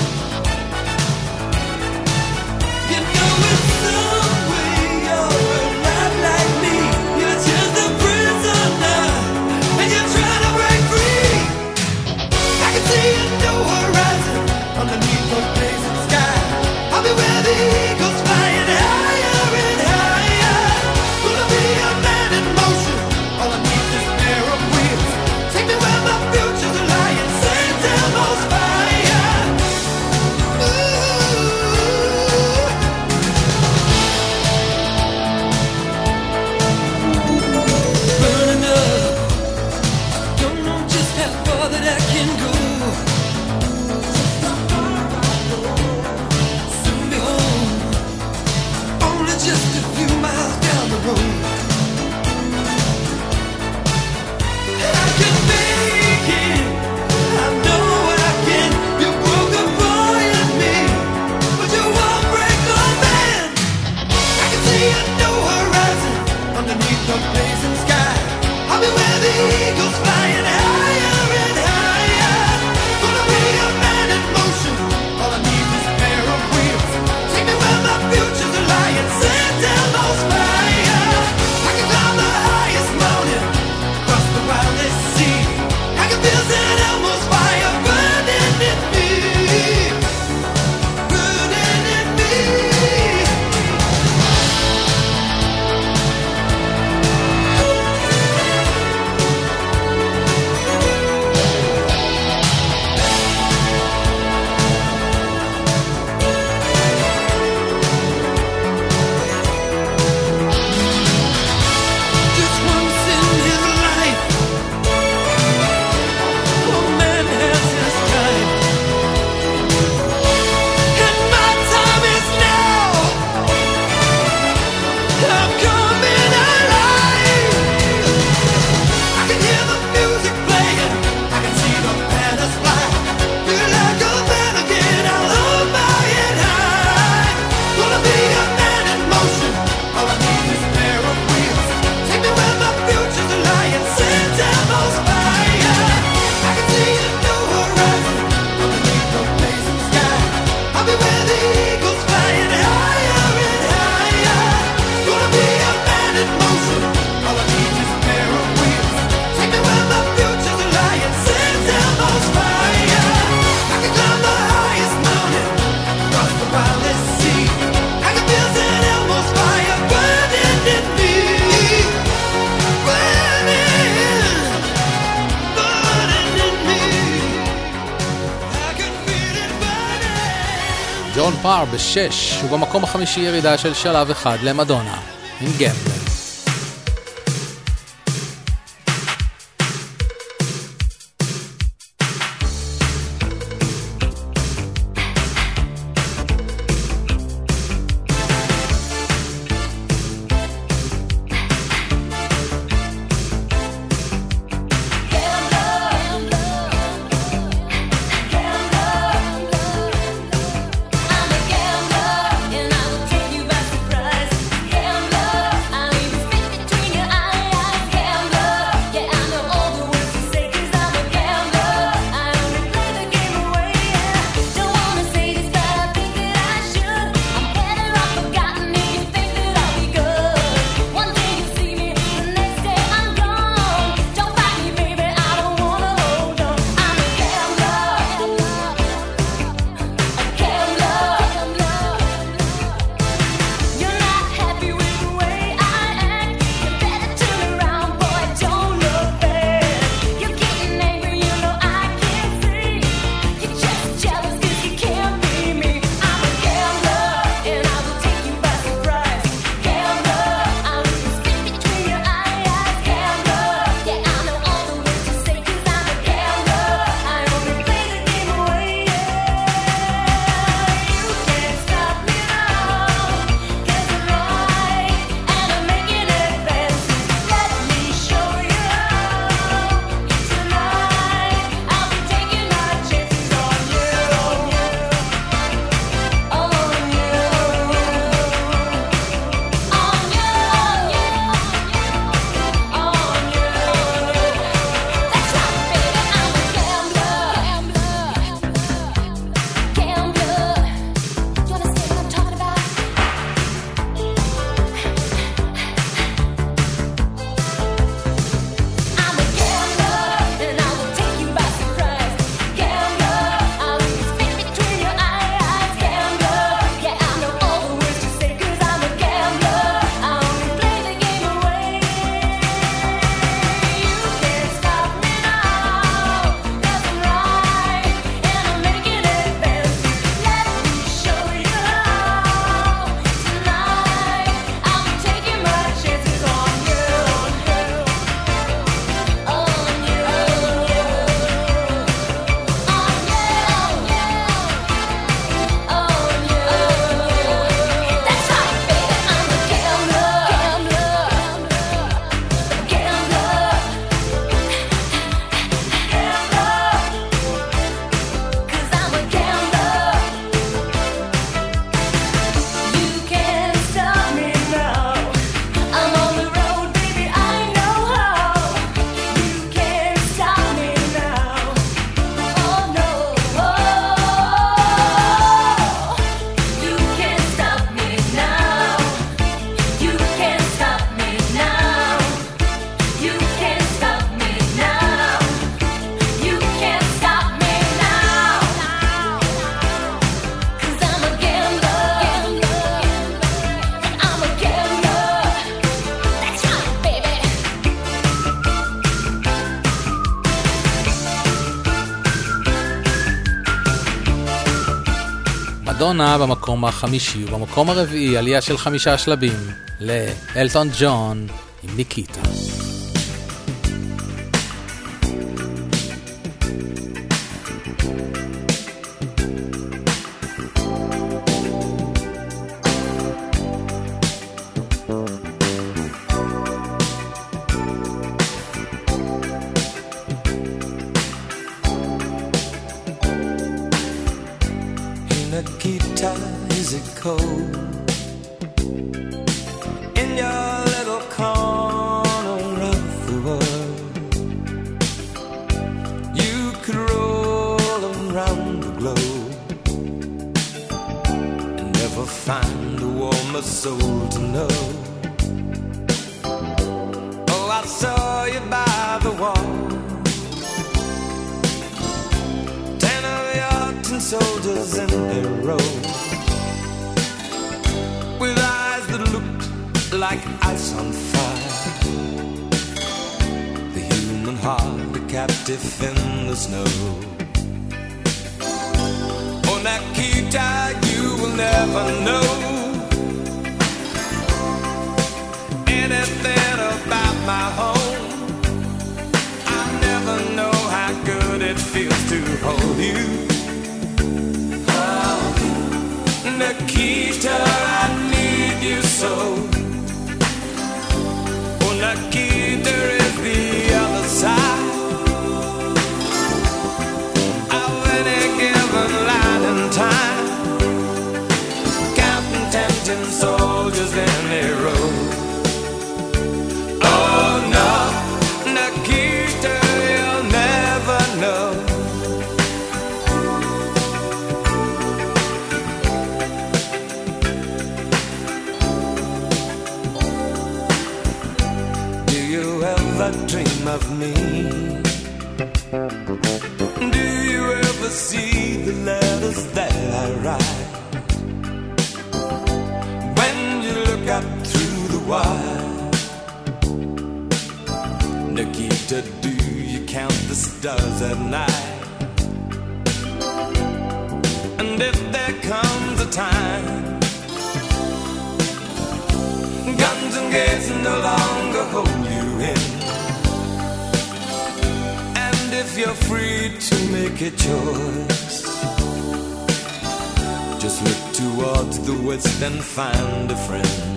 You know in some way you're alive like me. You're just a prisoner, and you're trying to break free. I can see a new horizon underneath the blazing sky. I'll be where the eagles flying higher and higher. Gonna be a man in motion. All I need is a pair of wheels. Take me where my future's lying. St. Elmo's fire. Burning up. Don't know just how far that I can go. Soon be home. Only just a few miles down the road. I can make it. I know I can. You broke a boy in me, but you won't break a man. I can see a new horizon underneath the blazing sky. I'll be where the eagles flying higher and higher. Gonna be a man in motion. All I need is a pair of wheels. Take me where my future's lying. St. Elmo's fire. I can climb the highest mountain, cross the wildest sea. I can feel St. Elmo's fire burning in me, burning in me. Just once in his life, a man has his time, and my time is now. I'm coming alive. I can hear the music playing, I can see the banners fly. Feel like a man again, I'll hold my head high. Gonna be a man in motion. All I need is a pair of wheels. Take me where my future's lying. St. Elmo's fire. I can see a new horizon underneath the blazing sky. I'll be where the eagles flying higher and higher. Gonna be a man in motion. All I need is a pair of wheels. Take me where my future's lying. St. Elmo's fire. I can climb the highest mountain, cross the wildest sea. I can feel St. Elmo's fire burning in me, burning, burning in me. I can feel it burning. ג'ון פאר ב6, ובמקום החמישי ירידה של שלב אחד למדונה, עם גמבל. I'm a gambler, and I will take you by surprise. Gambler, מדונה במקום החמישי, ובמקום הרביעי עלייה של 5 שלבים לאלטון ג'ון עם ניקיטה. Nikita, is it cold in your little corner of the world? You could roll around the globe and never find a warmer soul to know. Oh, I saw you by the wall, 10 of your tin soldiers in a row, with eyes that looked like ice on fire. The human heart, a captive in the snow. Oh, Nikita, you will never know anything about my home. I never know how good it feels to hold you. Nikita, I need you so. Oh, Nikita is the other side of any given line in time, counting 10 soldiers in a row. Oh no, Nikita, you'll never know. Dream of me? Do you ever see the letters that I write? When you look up through the wire, Nikita, do you count the stars at night? And if there comes a time guns and gates no longer hold you in, if you're free to make a choice, just look towards the west and find a friend.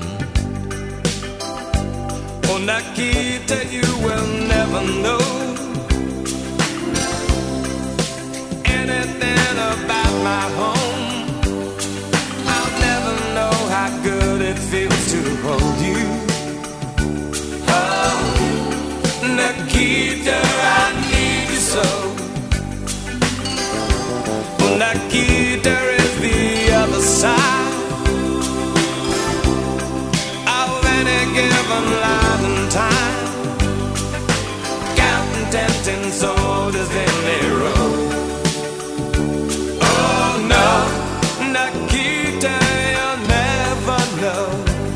Oh, Nikita, you will never know anything about my home. I'll never know how good it feels to hold you. Oh, Nikita, I need you so. Oh, Nikita is the other side of any given line in time, counting 10 soldiers in a row. Oh no, Nikita, you'll never know.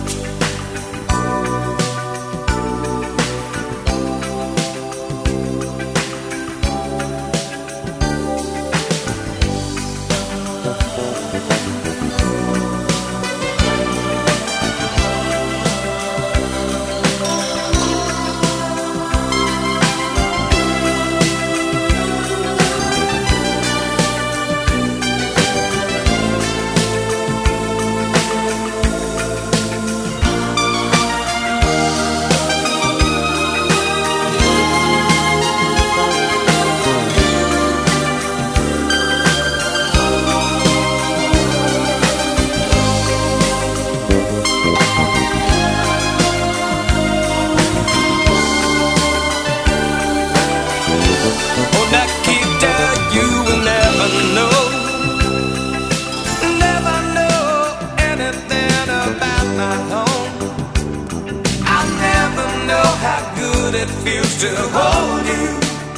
It feels to hold you.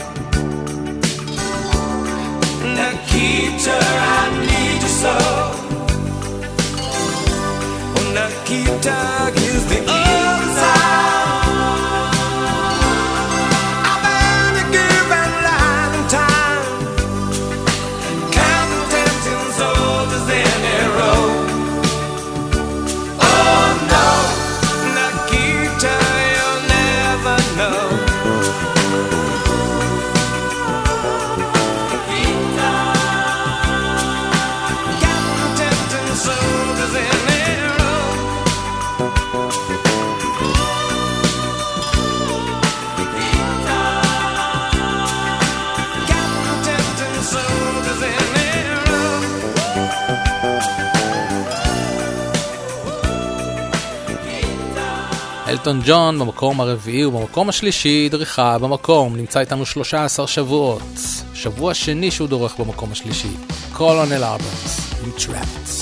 Nikita, I need you so. Oh, Nikita is the other side of any given line in time, counting 10 soldiers in a אלטון ג'ון במקום הרביעי, ובמקום השלישי דריכה במקום, נמצא איתנו 13 שבועות, שבוע שני שהוא דורך במקום השלישי, קולונל אברמס עם Trapped.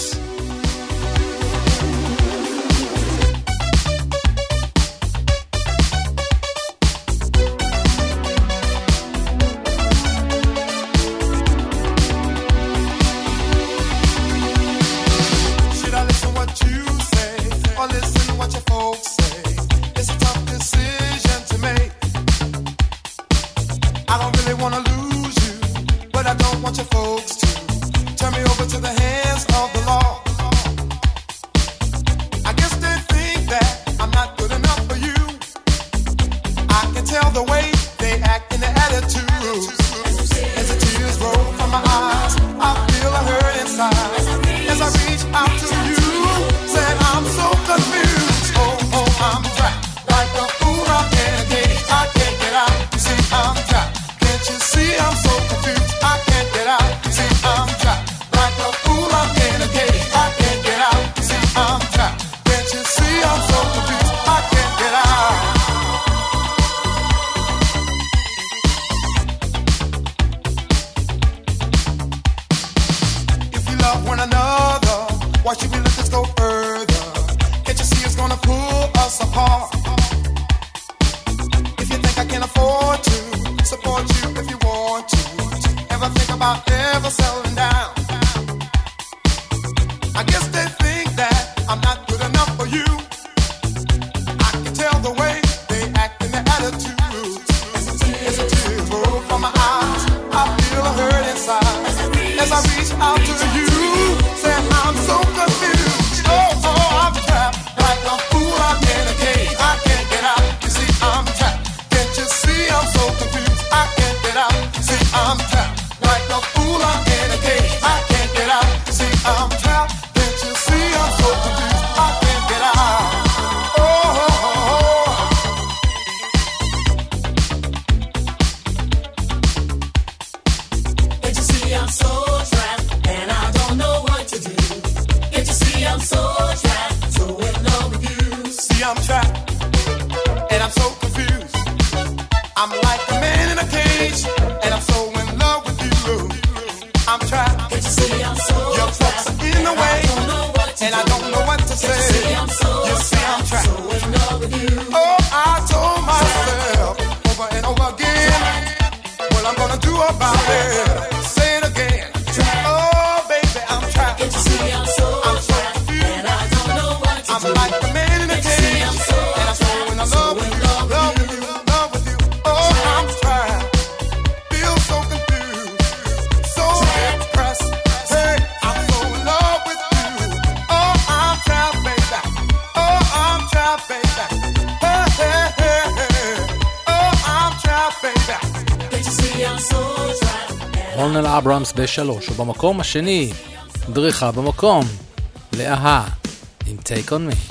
קולונל אברמס ב3, ובמקום השני דריכה במקום להה עם Take on Me.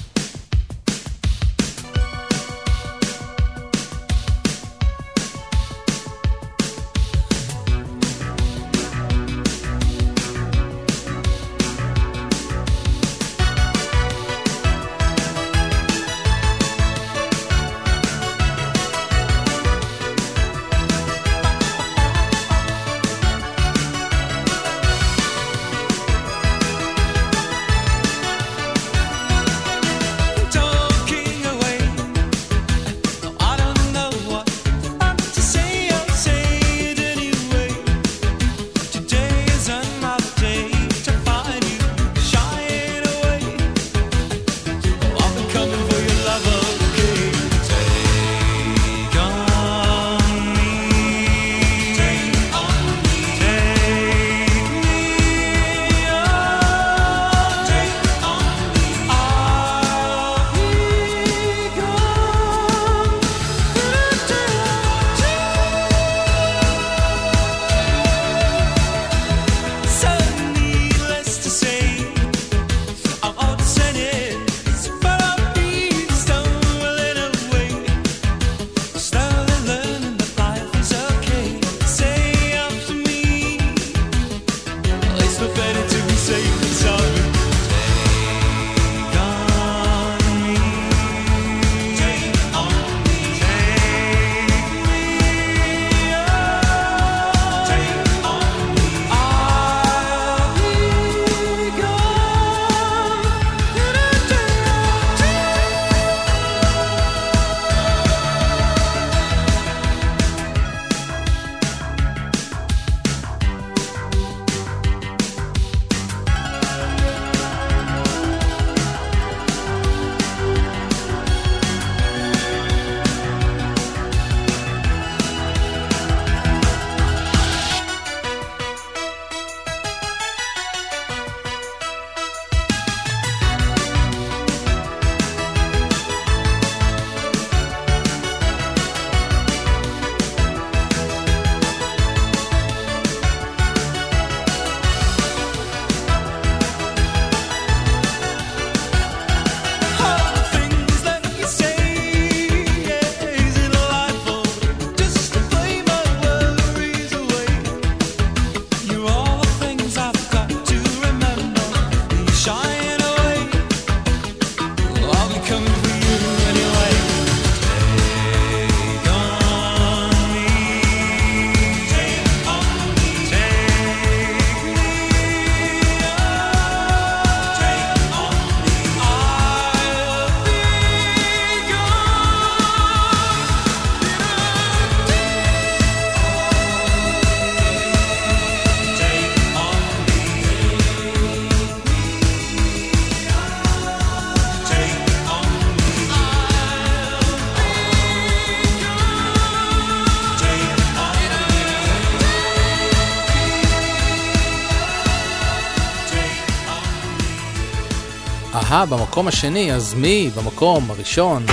אהה במקום השני, אז מי במקום הראשון?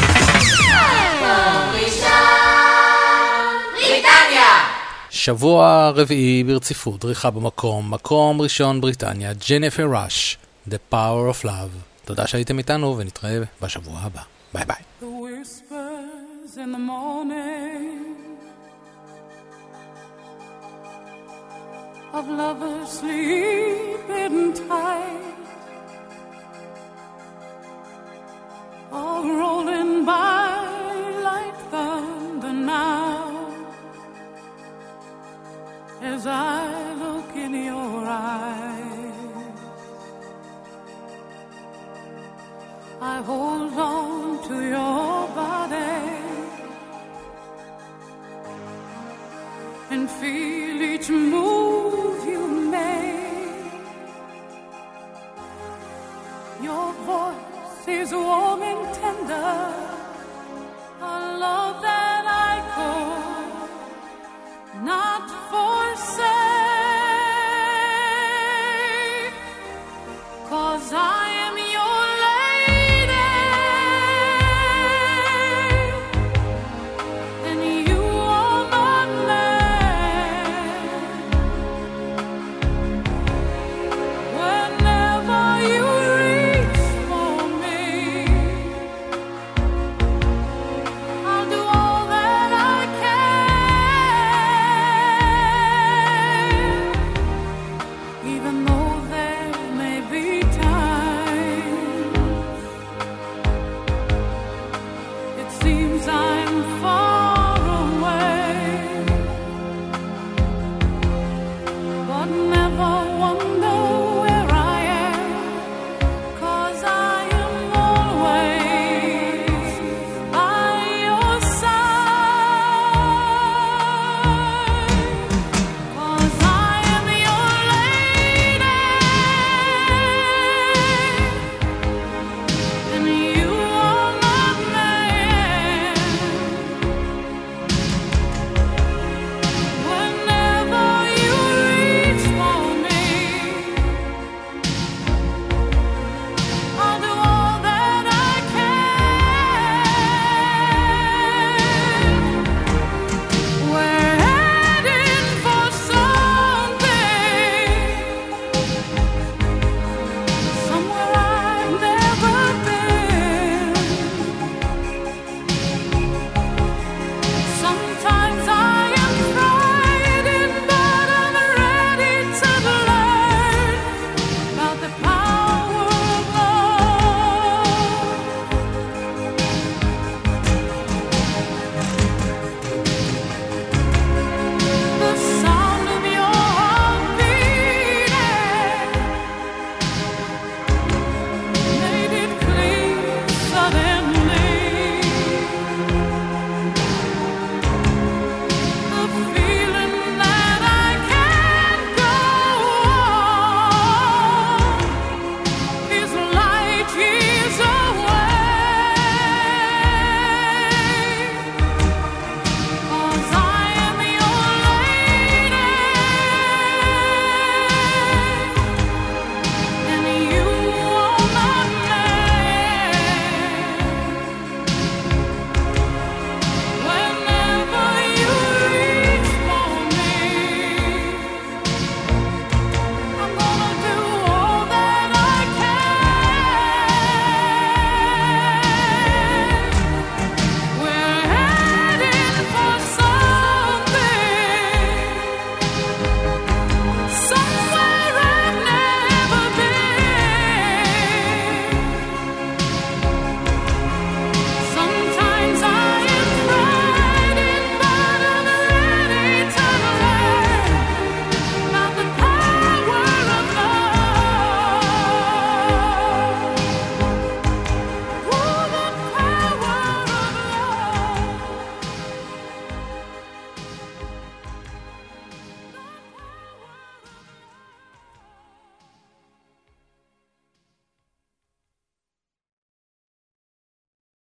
שבוע רביעי ברציפות, דריכה במקום, מקום ראשון בריטניה, ג'ניפר ראש, The Power of Love. תודה שהייתם איתנו ונתראה בשבוע הבא. ביי ביי. The whispers in the morning of lovers sleeping tight are rolling by like thunder now. As I look in your eyes, I hold on to your body and feel each move you make. Your voice is warm and tender,